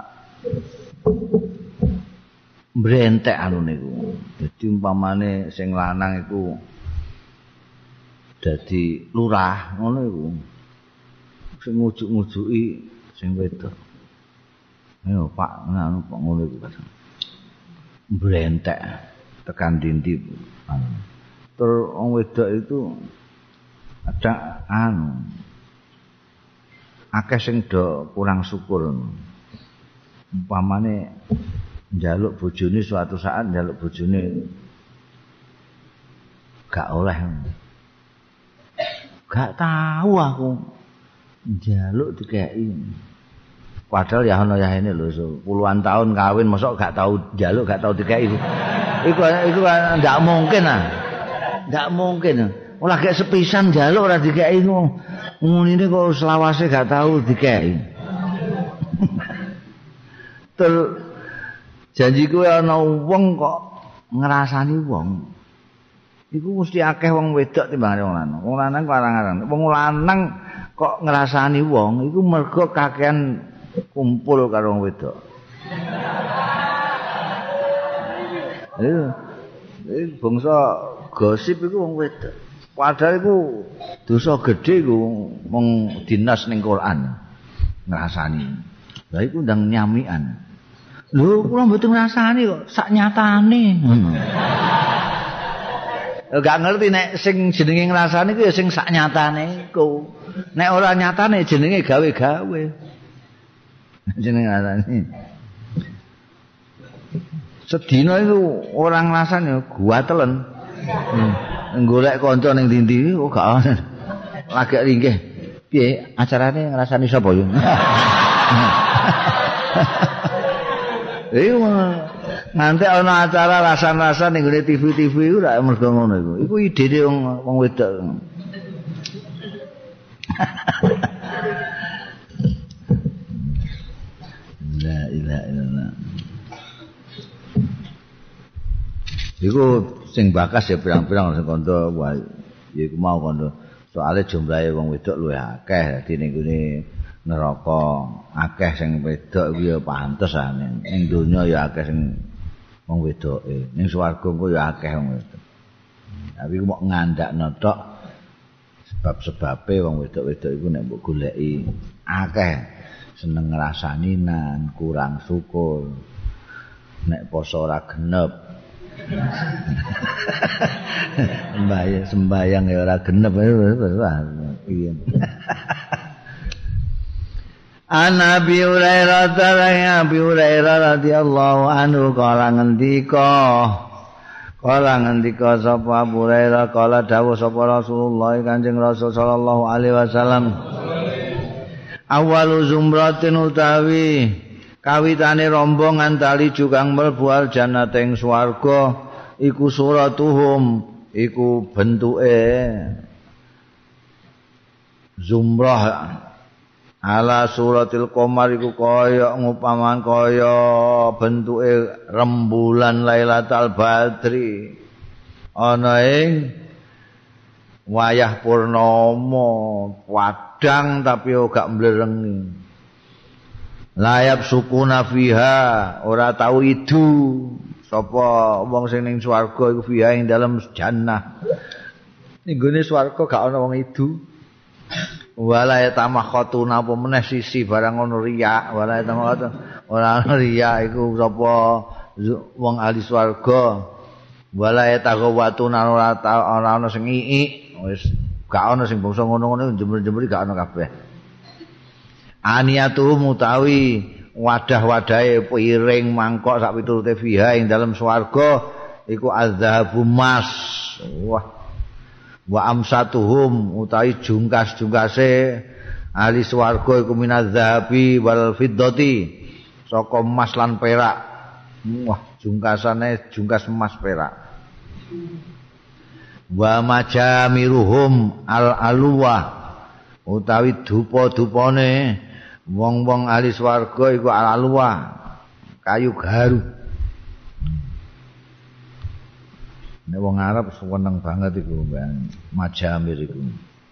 mbrentek anu niku. Dadi umpamane sing lanang iku dadi lurah ngono iku sing ngujuk-ngujuki sing wedok. Ayo Pak ngono kok ngono iku kadang. Mbrentek tekan dindi. Terus wong wedok itu ada anu akeh sing do kurang syukur. Umpamane njaluk bojone suatu saat njaluk bojone gak oleh. Gak tahu aku njaluk dikeki. Padahal ya ana ya ini lho puluhan tahun kawin mosok gak tahu njaluk gak tahu dikeki. Iku iku ndak mungkin ah. Ndak mungkin. Ora gek sepisan njaluk ora dikeki ngono. Ngene kok selawase gak tahu dikeki. Terus janjiku ana wong kok ngrasani wong. Iku mesti akeh wong wedok timbangane wong lanang. Wong lanang kok arang-arang. Wong lanang kok ngrasani wong iku mergo kakean kumpul karo wong wedok. Iya. Iki bangsa gosip iku wong wedok. Padahal iku dosa gedhe iku wong dinas ning Quran. Ngrasani. Lah iku ndang nyamikan. Lho, kula mboten ngrasani kok sak nyatane. Hmm. Gak ngerti nek sing jenenge ngrasani ku ya sing sak nyatane iku. Nek ora nyatane jenenge gawe-gawe. Jenenge ngrasani. Sedina iku orang ngrasani guatelen. Hmm. Golek kanca ning ndi-ndi kok gak ana. Lagi ringgih. Piye acarane ngrasani sapa yo? Iku nanti ana acara rasan-rasan ning ngene T V-T V iku ra mergo ngono iku. Iku idene wong wong wedok. La ilaha illallah. Iku sing bakas ya pirang-pirang sing kandha wae. Ya iku mau kandha. Soale jumlahe wong wedok luwih akeh dadi ning ngene neraka akeh sing wedok iku ya pantes ah ning donya ya akeh sing wong wedoke ning swarga ku ya akeh wong wedok. Tapi ku mok ngandakno tok sebab-sebabe wong wedok-wedok iku nek mbok goleki akeh seneng ngrasani nan kurang syukur nek poso ora genep sembayang sembayang ya ora genep piye. An Abi Hurairah radhiyallahu Abi Hurairah radhiyallahu anhu kala ngendika Kala ngendika sapa Abu Hurairah kala dawuh sapa Rasulullah Kanjeng Rasul sallallahu alaihi wasallam awalu zumratin utawi kawitane rombongan tali jukang mlebu al jannah ing swarga iku suratuhum iku bentuke zumrah ala suratil qamar iku kaya ngupaman kaya bentuke rembulan Lailatul Badri ana ing wayah purnama padhang tapi gak mblerengi layap sukuna fiha ora tau idu sapa wong sing ning swarga iku fiha ing dalem jannah ning gone swarga gak ana wong idu wala tamakhatuna apa meneh sisi barang ngono riya wala tamakhatuna ora ana riya iku sapa wong ahli swarga wala tagawatuna ora ora ana sing iik wis gak ana sing bangsa ngono-ngono jember-jember gak ana kabeh aniyatu mutawi wadah-wadahe piring mangkok sak piturute fiha ing dalem swarga iku azhabu mas wah wa amsatuhum utawi jungkas-jungkase ahli swarga iku minadzahabi wal fiddati saka emas lan perak wah jungkasane jungkas emas perak wa majamiruhum al alwa utawi dupa-dupane wong-wong ahli swarga iku al alwa kayu garu. Nek wong Arab seneng banget iku Mbak majamir iku.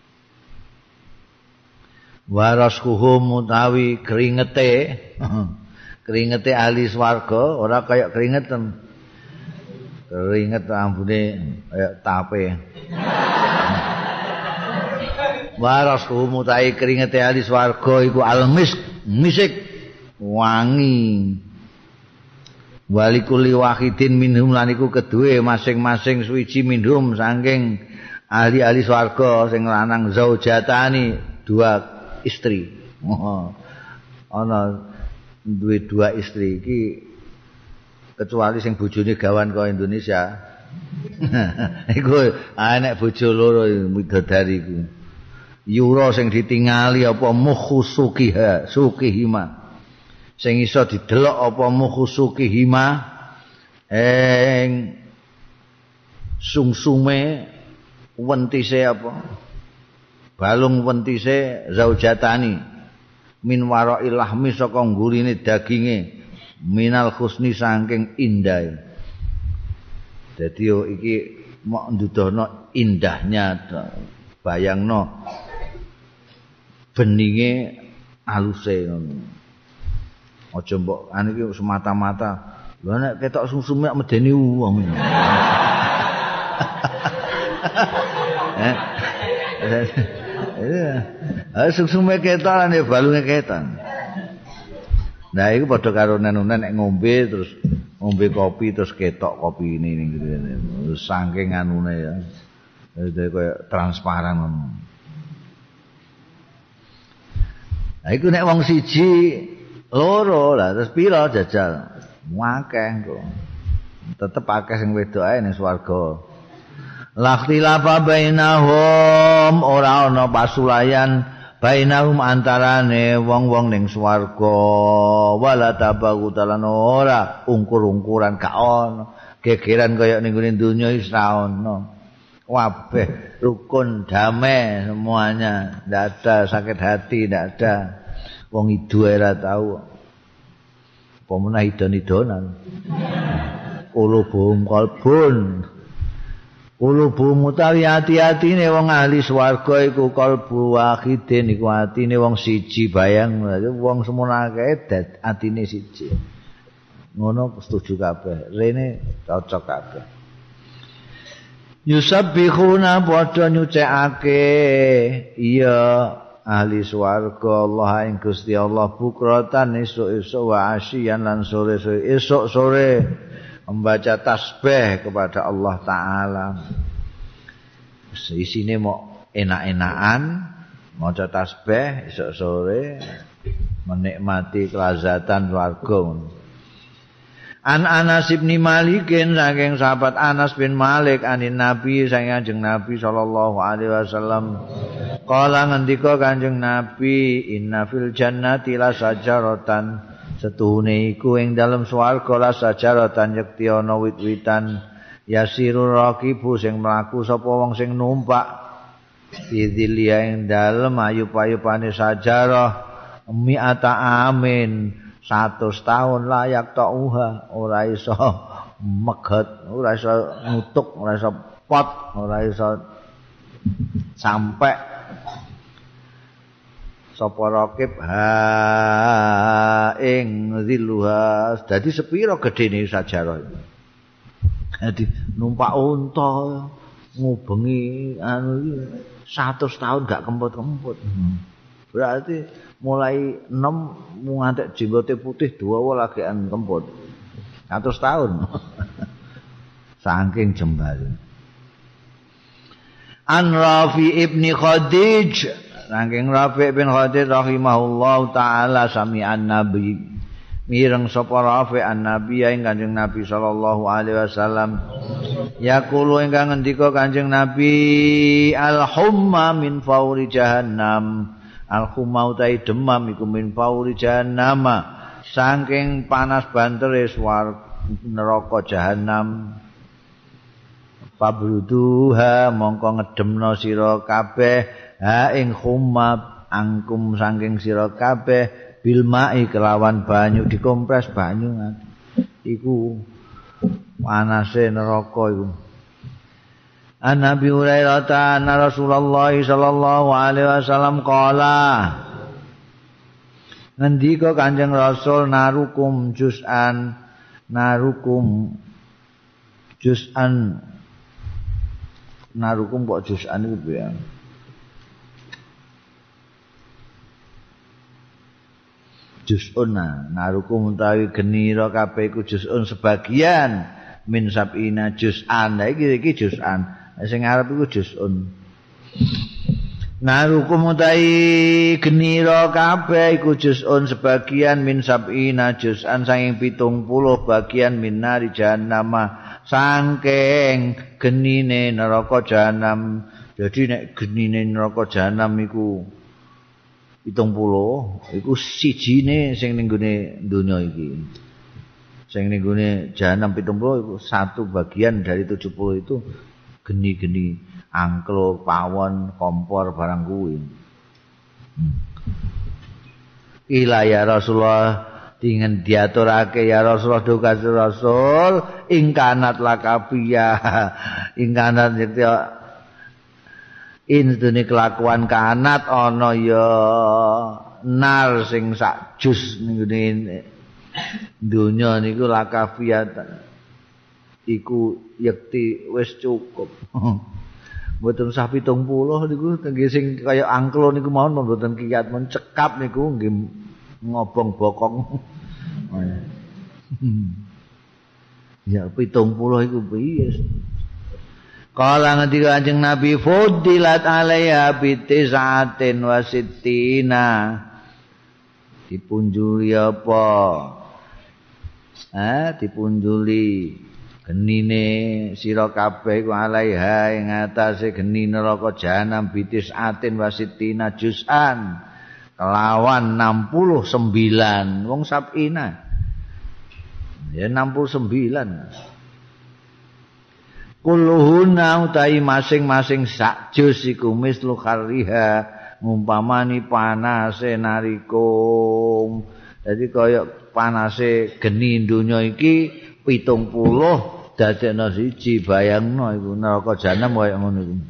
Waraskuhum utawi keringete. Keringete ahli swarga ora kaya keringetan. Keringet ambune kaya tape. Waraskuhum utawi keringete ahli swarga iku almis misik wangi. Walikuli wahidin minhum lan iku keduwe masing-masing suwiji minhum saking ahli-ahli swarga sing lanang zaujatani dua istri. Oh, ana duwe dua istri iki kecuali sing bojone gawan kaya Indonesia. Iku anek bojo loro midodari iku. Yura sing ditingali apa mukhusukiha sukihima. Sing iso didelok apa mukhusuki hima ing sungsume wentise apa balung wentise zaujatani min wara'il lahmi saka nggurine daginge minal husni saking indah dadi iki mok ndudohno indahnya bayangno beninge aluse ngono. Aja mbok anu iki semata-mata. Lha nek ketok sumsume medeni wong. Eh. Eh sumsume ketok nek balunge ketok. Nah iku padha karo nen-nen nek ngombe terus ngombe kopi terus ketok kopi ini ning gitu. Saking anune ya. Dadi koyo transparan ngono. Nah iku nek wong siji loro lah terus pira jajal akeh kok tetep akeh sing wedok ae ning swarga lakhtilafa bainahum ora ana pasulayan bainahum antarane wong-wong ning swarga wala tabagutalan ora ungkur-ungkuran gak ana gegeran kaya ning ngene donya wis ra ana kabeh rukun damai semuanya ndak ada sakit hati ndak ada. Wong idu ora tau. Apa meneh idon-idonan. Kulubum kalbun. Kulubum utawi ati-atine wong ahli swarga iku kalbu wahidin iku atine wong siji bayang wong semono akeh atine siji. Ngono setuju kabeh. Rene cocok kabeh. Yusabbihuna padha nyucikake iya ahli swarga Allah ing Gusti Allah bukratan esuk-esuk wa asyian lan sore-sore esuk sore membaca tasbih kepada Allah taala. Isine mau enak-enakan maca tasbih esuk sore menikmati kelazatan swarga. An Anas bin Malikin saking sahabat Anas bin Malik anin Nabi saking Kanjeng Nabi sallallahu alaihi wasallam kala ngendika Kanjeng Nabi inna fil jannati la sajaratan setuhune iku ing dalem swarga la sajaratan yekti ana wit-witan yasiru raqibu sing mlaku sapa wong sing numpak bidzilia ing dalem ayub-ayubane sajarah mi'ata amin seratus tahun layak ta'uha ora iso meget ora iso nutuk ora iso pot ora iso sampai sapa rakib ha ing ziluha dadi sepira gedene sajarah dadi numpak unta ngubengi anu iki seratus tahun gak kemput-kemput berarti mulai enam ngantek jenggote putih dua lagi an kemput seratus tahun saking jembal an Rafi ibni Khadij saking Rafi bin Khadij rahimahullahu taala sami'an nabi mireng sapa Rafi an nabi ing Kanjeng Nabi sallallahu alaihi wasallam yaqulu ingkang ngendika Kanjeng Nabi al humma min fauri jahannam al-khumau tai demam iku min fauri jahannam saking panas bantere swar neraka jahanam fabruduha mongko ngedemno sira kabeh ha ing khumma angkum saking sira kabeh bil mai kelawan banyu dikompres banyu iku panase neraka iku An Nabi Hurairah anna Rasulullah sallallahu alaihi wasallam qala ngendika Kanjeng Rasul narukum juz'an narukum juz'an narukum kok juz'an iku ya juz'un narukum utawi genira kabeh iku juz'un sebagian min sab'ina juz'an iki iki juz'an sing arep iku juz'un narukum utawi genira kabeh iku juz'un sebagian min sab'ina juz'an saking pitung puluh bagian min nari jahannam saking genine neraka jahanam jadi nek genine neraka jahanam iku pitung puluh iku sijine sing ning gone donya iki sing ning gone jahanam pitung puluh iku satu bagian dari tujuh puluh itu geni-geni angkluk, pawon, kompor barang kuwi. Hmm. Ila ya Rasulullah dengan diaturake ya Rasulullah duka Rasul ingkanat lakabia ingkanat itu ini kelakuan kanat ana ya nar sing sak jus ning dunya niku lakabia iku yekti wis cukup. Mboten usah pitung puluh niku nggih sing kaya angklung niku mawon mboten kiyat men cekap niku nggih ngobong bokong. Ya pitung puluh iku piye? Kala ngendika Kanjeng Nabi fudilat alaiha bitis'atin wa sittina dipunjuli apa? Ah dipunjuli genine sira kabeh iku alaiha ing atase geni neraka jahanam bitis atin wasitina juz'an kelawan enam puluh sembilan wong sabina ya enam puluh sembilan kulluhuna utai masing-masing sak juz iku mislu kharriha ngumpamani panase narikum dadi kaya panase geni donya iki pitung puluh dadekno siji bayangno iku neraka jahanam kaya ngono iku.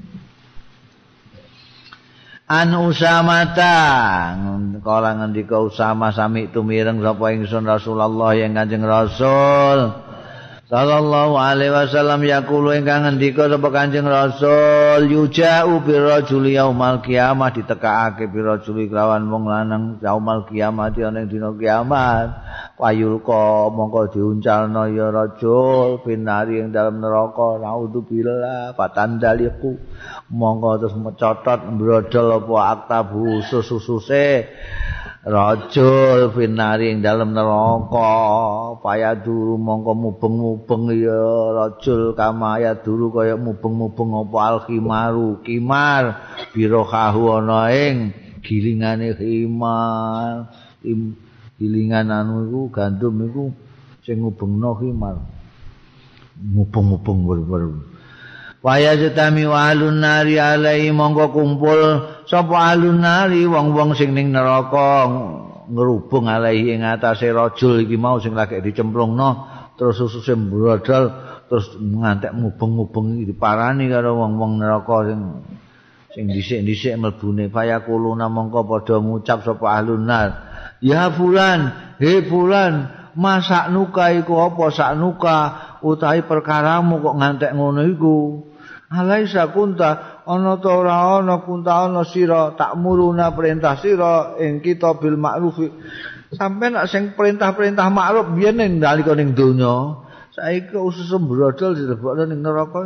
An Usamata kala ngendika Usama sami tumireng sapa ingsun Rasulullah yang Kanjeng Rasul sallallahu alaihi wasallam yaqulu ingkang ngendika sapa Kanjeng Rasul yuja'u birrajuli yaumal qiyamah ditekakake birrajuli kelawan wong lanang yaumal qiyamah ana ing dina kiamat wayulqa mongko diuncalno ya rajul binari ing dalam neraka naudzubillah patandaliku mongko terus mecotot mbrodol apa aktabu susususe rajul finari ing dalem neraka payaduru mongko mubeng-mubeng ya rajul kama ya dulu kaya mubeng-mubeng apa al khimaru kimar birohahu ana ing gilingane khimar gilingan anu iku gandum iku sing ngubengno khimar mubeng-mubeng ber-ber waya jetami wa alun nari alai mongko kumpul sapa alun nari wong-wong sing ning neraka ngerubung alai ing atase rajul iki mau sing lagi dicemplungno terus sususe mbrodol terus ngantek mubeng-mubeng iki diparani karo wong-wong neraka sing sing dhisik-dhisik mlebune fayakuluna mongko padha ngucap sapa alun nar ya fulan he fulan masak nuka iku apa saknuka utahe perkaramu kok ngantek ngono iku alaisa kunta ana ta ora ana kunta ana sira takmuruna perintah sira ing kita bil ma'ruf sampe nek sing perintah-perintah makruf biyen ning nalika ning donya saiki usus sembrodol dilebokno ning neraka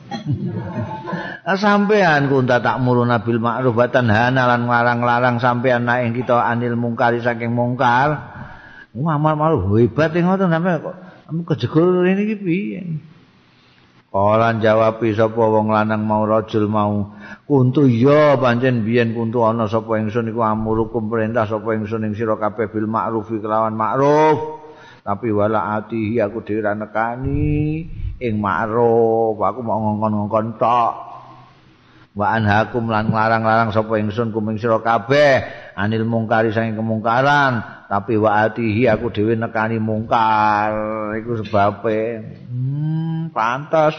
sampean kunta takmuruna bil ma'ruf wa tanhana lan nglarang-larang sampean nek ing kita anil mungkari saking mungkar amal malu hebat ngoten sampe kok kejegol rene iki piye. Kala jawabi sapa wong lanang mau rajul mau kuntu ya pancen biyen kuntu ana sapa ingsun iku amurukum perintah sapa ingsun ing sira kabeh bil ma'rufi kelawan ma'ruf tapi wala atihi aku dhewe ra nekani ing ma'ruf aku mau ngongkon-ngongkon tok wa anhakum lan nglarang-larang sapa ingsun kuming sira kabeh anil mungkari saking kemungkaran tapi wa atihi aku dhewe nekani mungkar iku sebabe hmm pantas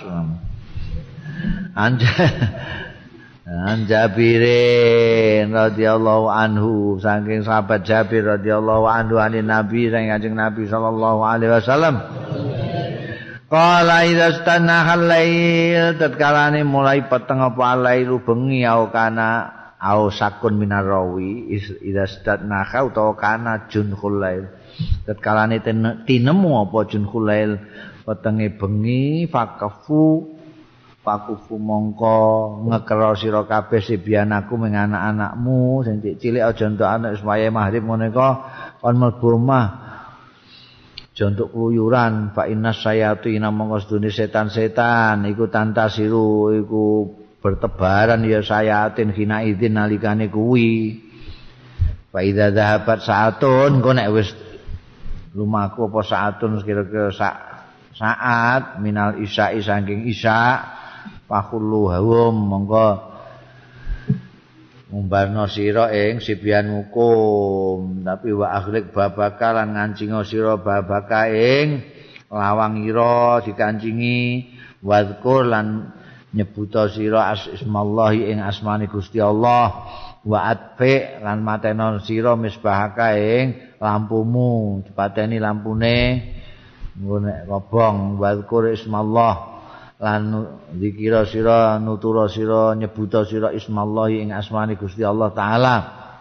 anja Anjabirin radhiyallahu anhu saking sahabat Jabir radhiyallahu anhu anin Nabi saking Kanjeng Nabi sallallahu alaihi wasallam qala idza stanahal lail tatkalane mulai peteng apa lailu bengi au kana au sakun minarawi idza stanahal utawa kana junhul lail tatkalane tinemu apa junhul lail petenge bengi fakafu pakufu mongko ngekero sira kabeh sibianaku ming anak-anakmu sing cilik aja entuk anak supaya mahrib ngene kok kon mlebu omah aja entuk kluyuran fa innas sayatina mongko sedune setan-setan iku tantasiru iku bertebaran ya sayatin hina idzin nalikane kuwi fa idza dhahabat saatun engko nek wis lumaku apa saatun kira-kira sak saat minal isya'i saking isya' pakhulu hawum monggo ngumbarno sira ing sibian hukum tapi wa akhlik babaka lan ngancinga sira babaka ing lawang ira dikancingi wadkur lan nyebuta sira asmallahi ing asmane Gusti Allah wa atfi lan mateno sira misbahaka ing lampumu dipateni lampune ngene robong wadkur ismallah lan dikira sira nutura sira nyebuta sira ismallahi ing asmane Gusti Allah taala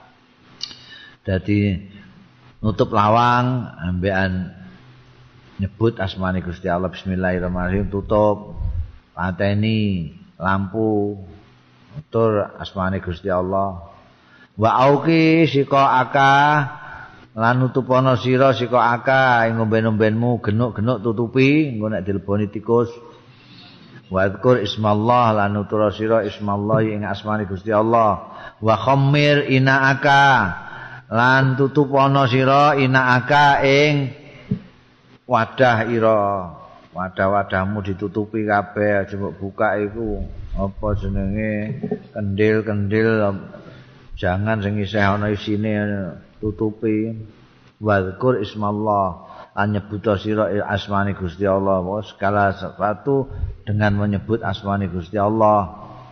dadi nutup lawang ambekan nyebut asmane Gusti Allah bismillahirrahmanirrahim tutup pateni lampu tur asmane Gusti Allah wa auqi sika aka lan nutupana sira sika aka ing ngomben-ombenmu genuk-genuk tutupi engko nek dileboni tikus wadkur ismallah lan nutura sira ismallah ing asmane Gusti Allah wa khammir inaaka lan tutupana sira inaaka ing wadah ira wadah-wadahmu ditutupi kabeh aja mbok buka iku apa jenenge kendil-kendil jangan sing isih ana isine tutupi wadkur ismallah an nyebuta sira asmane Gusti Allah segala sesuatu dengan menyebut asmane Gusti Allah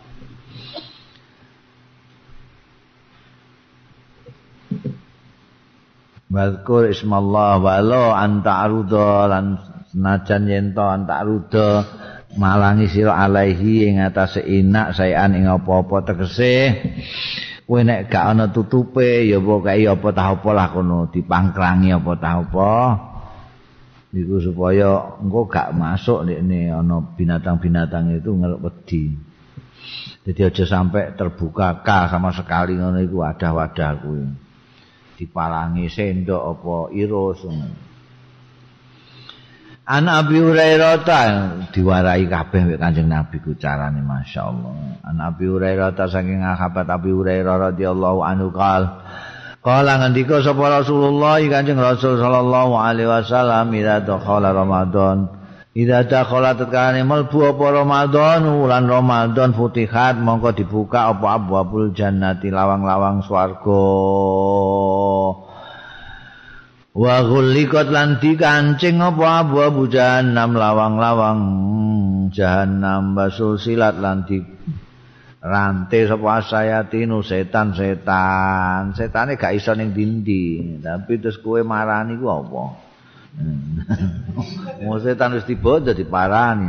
wadkur ismallah walau anta aruda lan senajan yen to anta aruda malangi sira alaihi ing atase inak saean ing apa-apa tegese kowe nek gak ana tutupe ya pokoke apa tah apa lah kono dipangkrangi apa tah apa niku supaya engko gak masuk nek ana binatang-binatang itu ngeluk wedi. Jadi aja sampai terbuka ka sama sekali ngono iku wadah-wadah kuwi. dipalangi sendok apa irus. An Abi Hurairah diwarai kabeh wek Kanjeng Nabi ku carane masyaallah. An Abi Hurairah saking sahabat Abi Hurairah radhiyallahu anhu qal qala ngendika sapa Rasulullah Kanjeng Rasul sallallahu alaihi wasallam ida dakhala Ramadan ida dakhala tetkane mlebu apa Ramadan wulan Ramadan futihat mongko dibuka apa abwabul jannati lawang-lawang swarga wa ghulliqat lan dikancing apa abu-abu jahannam lawang-lawang jahannam basul silat lan di rantai sapa sayatinu setan-setan setane gak iso ning dindi tapi terus kowe marani ku apa mau setan wis tiba dadi parani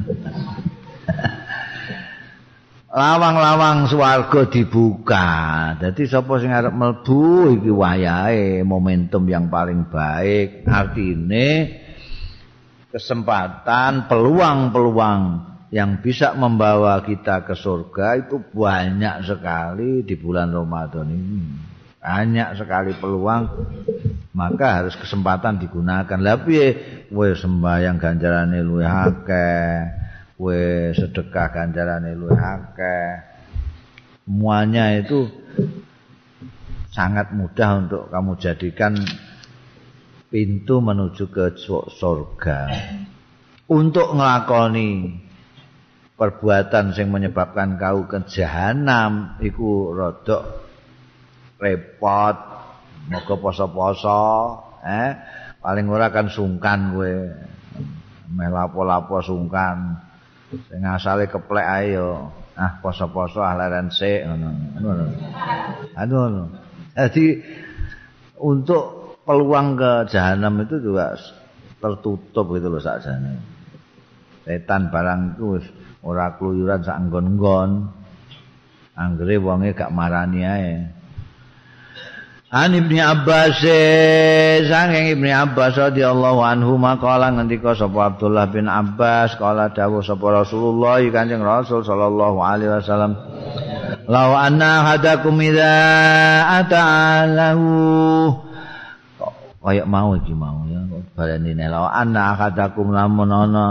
lawang-lawang swarga dibuka. Dadi sapa sing arep mlebu iki wayahe momentum yang paling baik. Artine kesempatan, peluang-peluang yang bisa membawa kita ke surga itu banyak sekali di bulan Ramadan ini. Banyak sekali peluang, maka harus kesempatan digunakan. Lah piye kowe sembahyang ganjarane luwih akeh. Kowe sedekah ganjarane luwih akeh. Semuanya itu sangat mudah untuk kamu jadikan pintu menuju ke surga. Untuk nglakoni perbuatan sing menyebabkan kau ke jahanam iku rada repot. Moga poso-poso, eh paling ora kan sungkan kowe. Meh lapo-lapo sungkan. Sing asale keplek ae yo ah poso-poso ah leren sik ngono ngono ngono. Jadi untuk peluang ke jahanam itu juga tertutup gitu loh sakjane. Setan barang itu ora kluyuran sak nggon-nggon. Anggere wonge gak marani ae. An Ibnu Abbas saking Ibnu Abbas radhiyallahu anhu maqala ngendika sapa Abdullah bin Abbas kala dawuh sapa Rasulullah Kanjeng Rasul sallallahu alaihi wasallam law anna hadakum idza ata'alahu kaya mau iki mau ya barene law anna hadakum lamun ana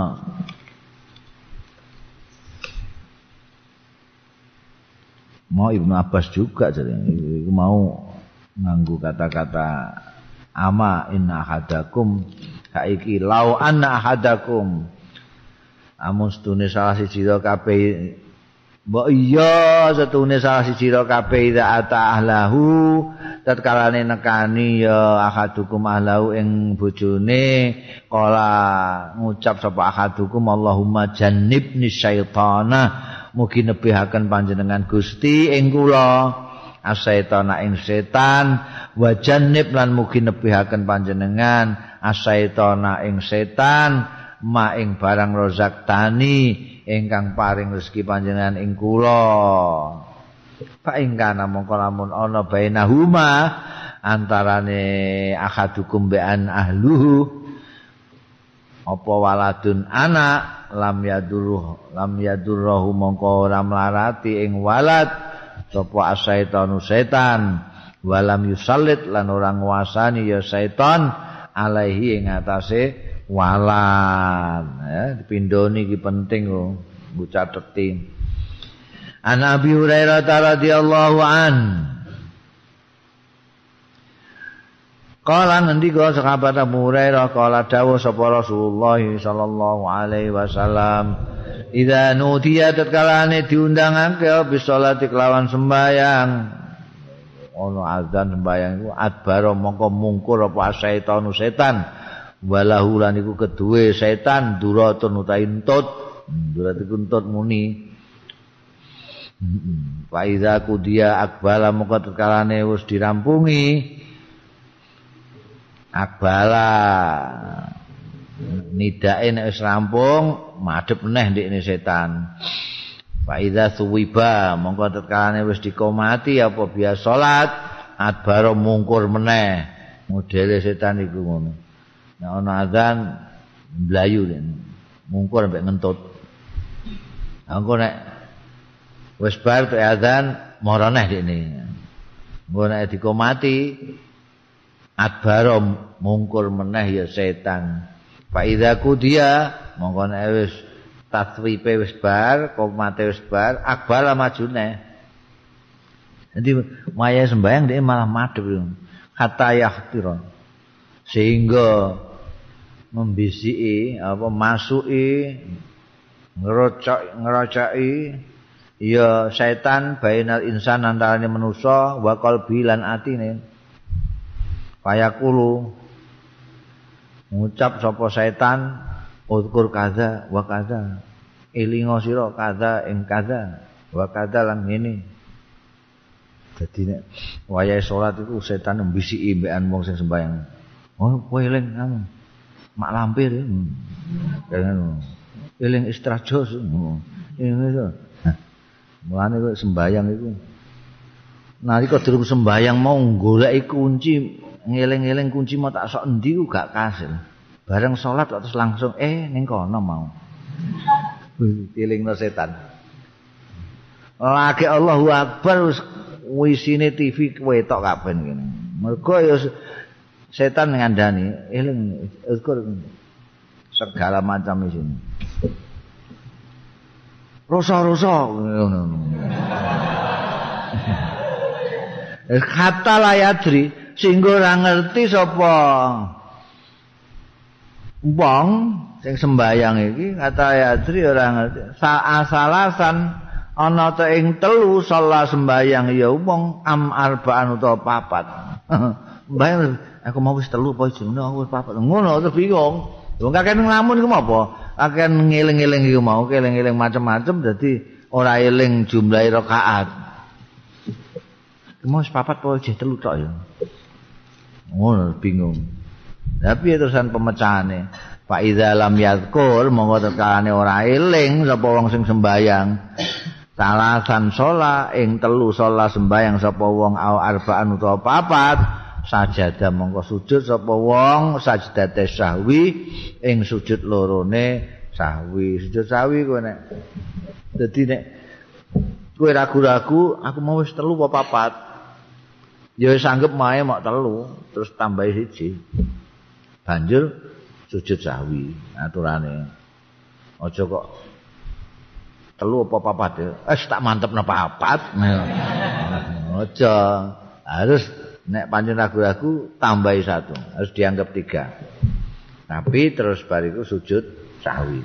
mau Ibnu Abbas juga jadi mau nganggo kata-kata ama inna ahadakum kaiki lau anna ahadakum amun setune salah siji ro kabeh mbok iya setune salah siji ro kabeh ida ata ahlahu tatkalane nekani ya ahadukum ahlahu ing bojone kala ngucap sapa ahadukum Allahumma jannibni syaitana mugi nebihaken panjenengan Gusti ing kula asaitana ing setan wa jannib lan mugi nebihaken panjenengan asaitana ing setan ma ing barang rozak tani ingkang paring rezeki panjenengan ing kula fa ingkana mongko lamun ana bainahuma antarane ahadukum be'an ahluhu apa waladun anak lam yaduruh lam yadurruhu mongko ora mlarati ing walad sapa asaitanu setan walam yusallit lan ora nguasani ya setan alaihi ing atase walad ya dipindhoni iki penting kok mbok cateti An Abi Hurairah radhiyallahu an Kala ngendika sahabat Abu Hurairah kala dawuh sapa Rasulullah sallallahu alaihi wasallam Idza nudiya tatkalane diundangake bisolati kelawan sembayang ono azan sembayang iku adbaro mongko mungkur apa setan setan walahu lan iku keduwe setan duratun utahe entut durat iku entut muni fa iza kudiya akbala mongko tatkalane wis dirampungi akbala nidae nek wis rampung madhep neh ndekne setan. Fa idza suwiba mongko tetkalane wis dikomati apa biasa salat adbaro mungkur meneh. Modele setan iku ngono. Nek ana azan mlayu mungkur sampai ngentut. Engko nek wis bar tek azan mara neh ndekne. Engko nek dikomati adbara mungkur meneh ya setan. Fa idza kudiya mongko nek wis tatwipe wis bar, komate wis bar, akbala majune. Jadi maya sembahyang dia malah madhep kata yahtira. Sehingga membisiki apa masuki ngerocok ngerocaki ya setan bainal insan antarane manusa wa qalbi lan atine. Fayaqulu ngucap sapa setan uzkur kaza wa kaza elinga sira kaza ing kaza wa kaza lan ngene. Dadi nek wayahe salat iku setan mbisiki mbekan wong sing sembahyang. Oh, kowe eling anu. Mak lampir ya. Kan eling istrajos. Ini itu. Mulane kok sembahyang iku. Nalika durung sembahyang mau goleki kunci, ngeling-eling kunci mau tak sok endi ku gak kasil. Bareng salat kok terus langsung eh ning kono mau. Dilingno setan. Lagi Allahu Akbar wisine T V ketok kabeh ngene. Mergo ya setan ngandani eling ukur segala macam isine. Rosa-rosa ngono. Kata layadri sehingga ora ngerti sapa wong sing sembayang iki kata layadri ora ngerti. Saasalasan ana ta ing telu salat sembayang ya wong am arbaan utawa papat. Mbayang aku mau wis telu apa jenenge aku wis papat. Ngono terus bingung. Wong kakek nglamun iku apa? Kakek ngeling-eling iku mau, eling-eling macam-macam dadi ora eling jumlahe rakaat. Mau wis papat apa jeh telu tok ya. Ngono bingung. Tapi terusan pemecahane. Fa idza lam yadhkur monggo tekane ora eling sapa wong sing sembayang. Salasan sholat ing telu sholat sembahyang sapa wong au arbaan utawa papat sajadah mongko sujud sapa wong sajdate sahwi ing sujud lorone sahwi. Sujud sahwi kowe nek dadi nek kowe ragu-ragu aku mau wis telu apa papat ya wis anggap mae mok telu terus tambahi siji banjur sujud sahwi aturane. Aja kok telu apa papat ya. Eh tak mantepno papat. Aja. Harus nek pancen ragu-ragu tambahi satu. Harus dianggap tiga. Tapi terus bariku sujud sahwi.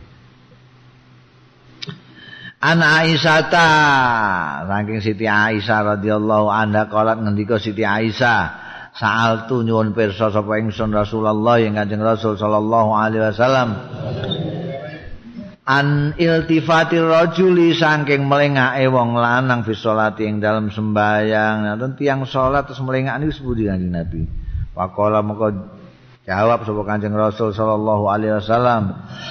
An Aisyah ta saking Siti Aisyah radhiyallahu anha qalat ngendika Siti Aisyah sa'altu nyuwun pirsa sapa ingsun Rasulullah yang Kanjeng Rasul sallallahu alaihi wasallam an iltifatir rajuli saking melengake wong lanang fi sholati ing dalem sembahyang. Nanten tiyang salat terus melengak niku sepundi Kanjeng Nabi. Waqala moko jawab sapa Kanjeng Rasul sallallahu alaihi wasallam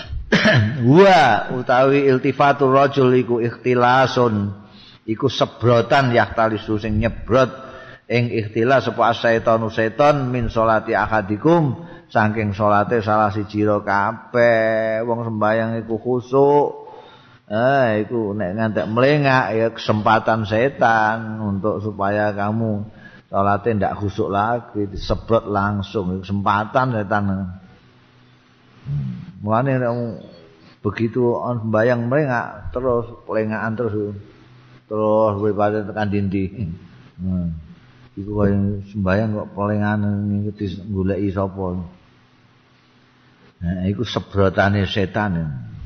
wa utawi iltifatur rajul iku ikhtilasun iku sebrotan yahtalisu sing nyebrot ing ikhtilas sapa asyaiton seton min sholati ahadikum saking salate salah siji ro kabeh wong sembayang iku khusuk. Eh iku nek ngantek melengak ya kesempatan setan untuk supaya kamu salate ndak khusuk lagi disebrot langsung kesempatan setan. Hmm. Mulane nek begitu on sembayang melengak terus pelengakan terus terus daripada tekan dindi. Hmm. Iku kaya sembayang kok pelengahan ngikuti goleki sapa. Nah, iku sebrotane setan.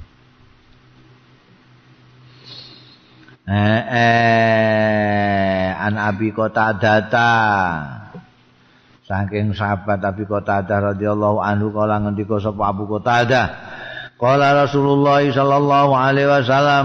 Eh, eh an Abi Qatadah saking sahabat Abi Qatadah radhiyallahu anhu kala ngendika sapa Abu Qatadah qala Rasulullah sallallahu alaihi wasallam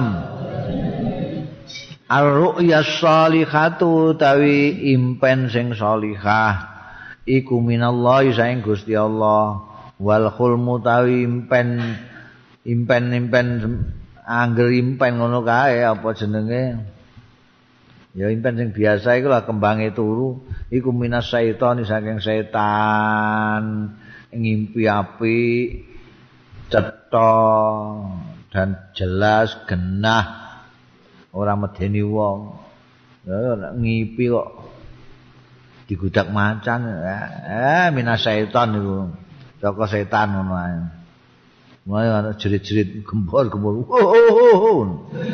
ar-ru'yas shalihatu tawi impen sing salihah iku minallahi saing Gusti Allah wal khulmu tawi impen impen-impen angger impen ngono kae apa jenenge ya impen sing biasa iku lah kembange turu iku minas syaiton saking setan ngimpi apik cetha dan jelas genah ora medeni wong. Ya nek ngipi kok digudak macan eh minas syaiton niku saka setan ngono ae mulai ana jerit-jerit gembor-gembor oh oh oh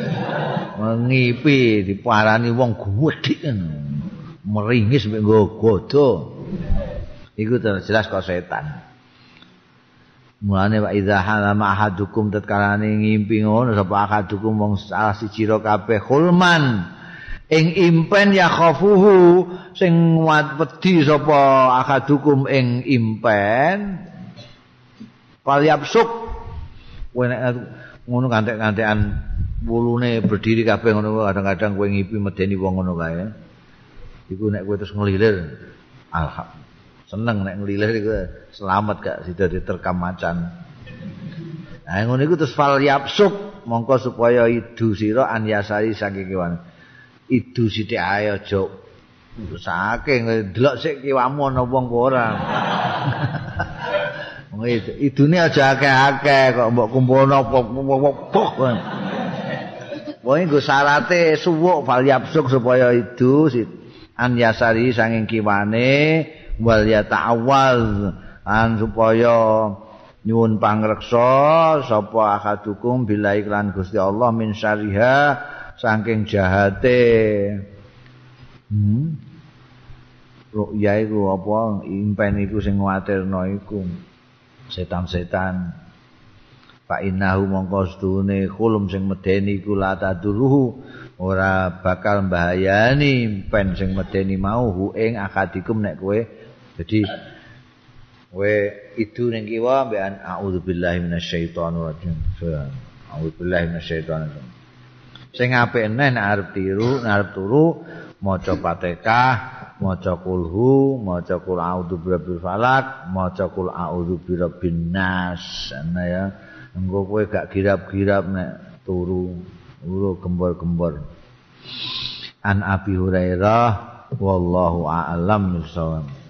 ngipi diparani wong gedhe meringis mek godo iku jelas kok setan mulane wa idza halama ahadukum tatkalane ngimpi ngono sapa ahadukum wong salah siji ro kabeh khulman ing impen ya khafuhu sing wedi sapa akadukum ing impen palyapsuk kowe nek ngono kantek-kantekan wulune berdiri kabeh ngono kadang-kadang kowe ngipi medeni wong ngono kae iku nek kowe terus ngelilir alhamdulillah seneng nek ngelilir iku selamat gak sida diterkam macan nah ngono iku terus palyapsuk mongko supaya idu sira an yasari saking kiwan idu sithik ae aja saking delok sik kiwamu ana wong apa ora. Wong idune aja akeh-akeh kok mbok kumpulno pok. Wong nggo syarate suwuk fal yapsuk supaya idu an yasari saking kiwane wal ya ta'awwaz an supaya nyuwun pangreksa sapa akadukum billahi lan Gusti Allah min syariha saking jahate hmm ru'ya iku apa impen iku sing nguatirno iku setan-setan fa innahu mongko sedune khulum sing medeni iku la taduruhu ora bakal mbahayani impen sing medeni mau hu ing akadikum nek kowe dadi kowe idu ning kiwa mbekan a'udzubillahi minasyaitonir rajim a'udzubillahi minasyaitonir rajim sing apik neh nek arep tiru nek arep turu maca Fatihah maca kulhu maca qul a'udzu birabbil falaq maca qul a'udzu birabbin nas ana ya engko kowe gak girap-girap nek turu uru gembor-gembor an Abi Hurairah wallahu a'lam bissawab.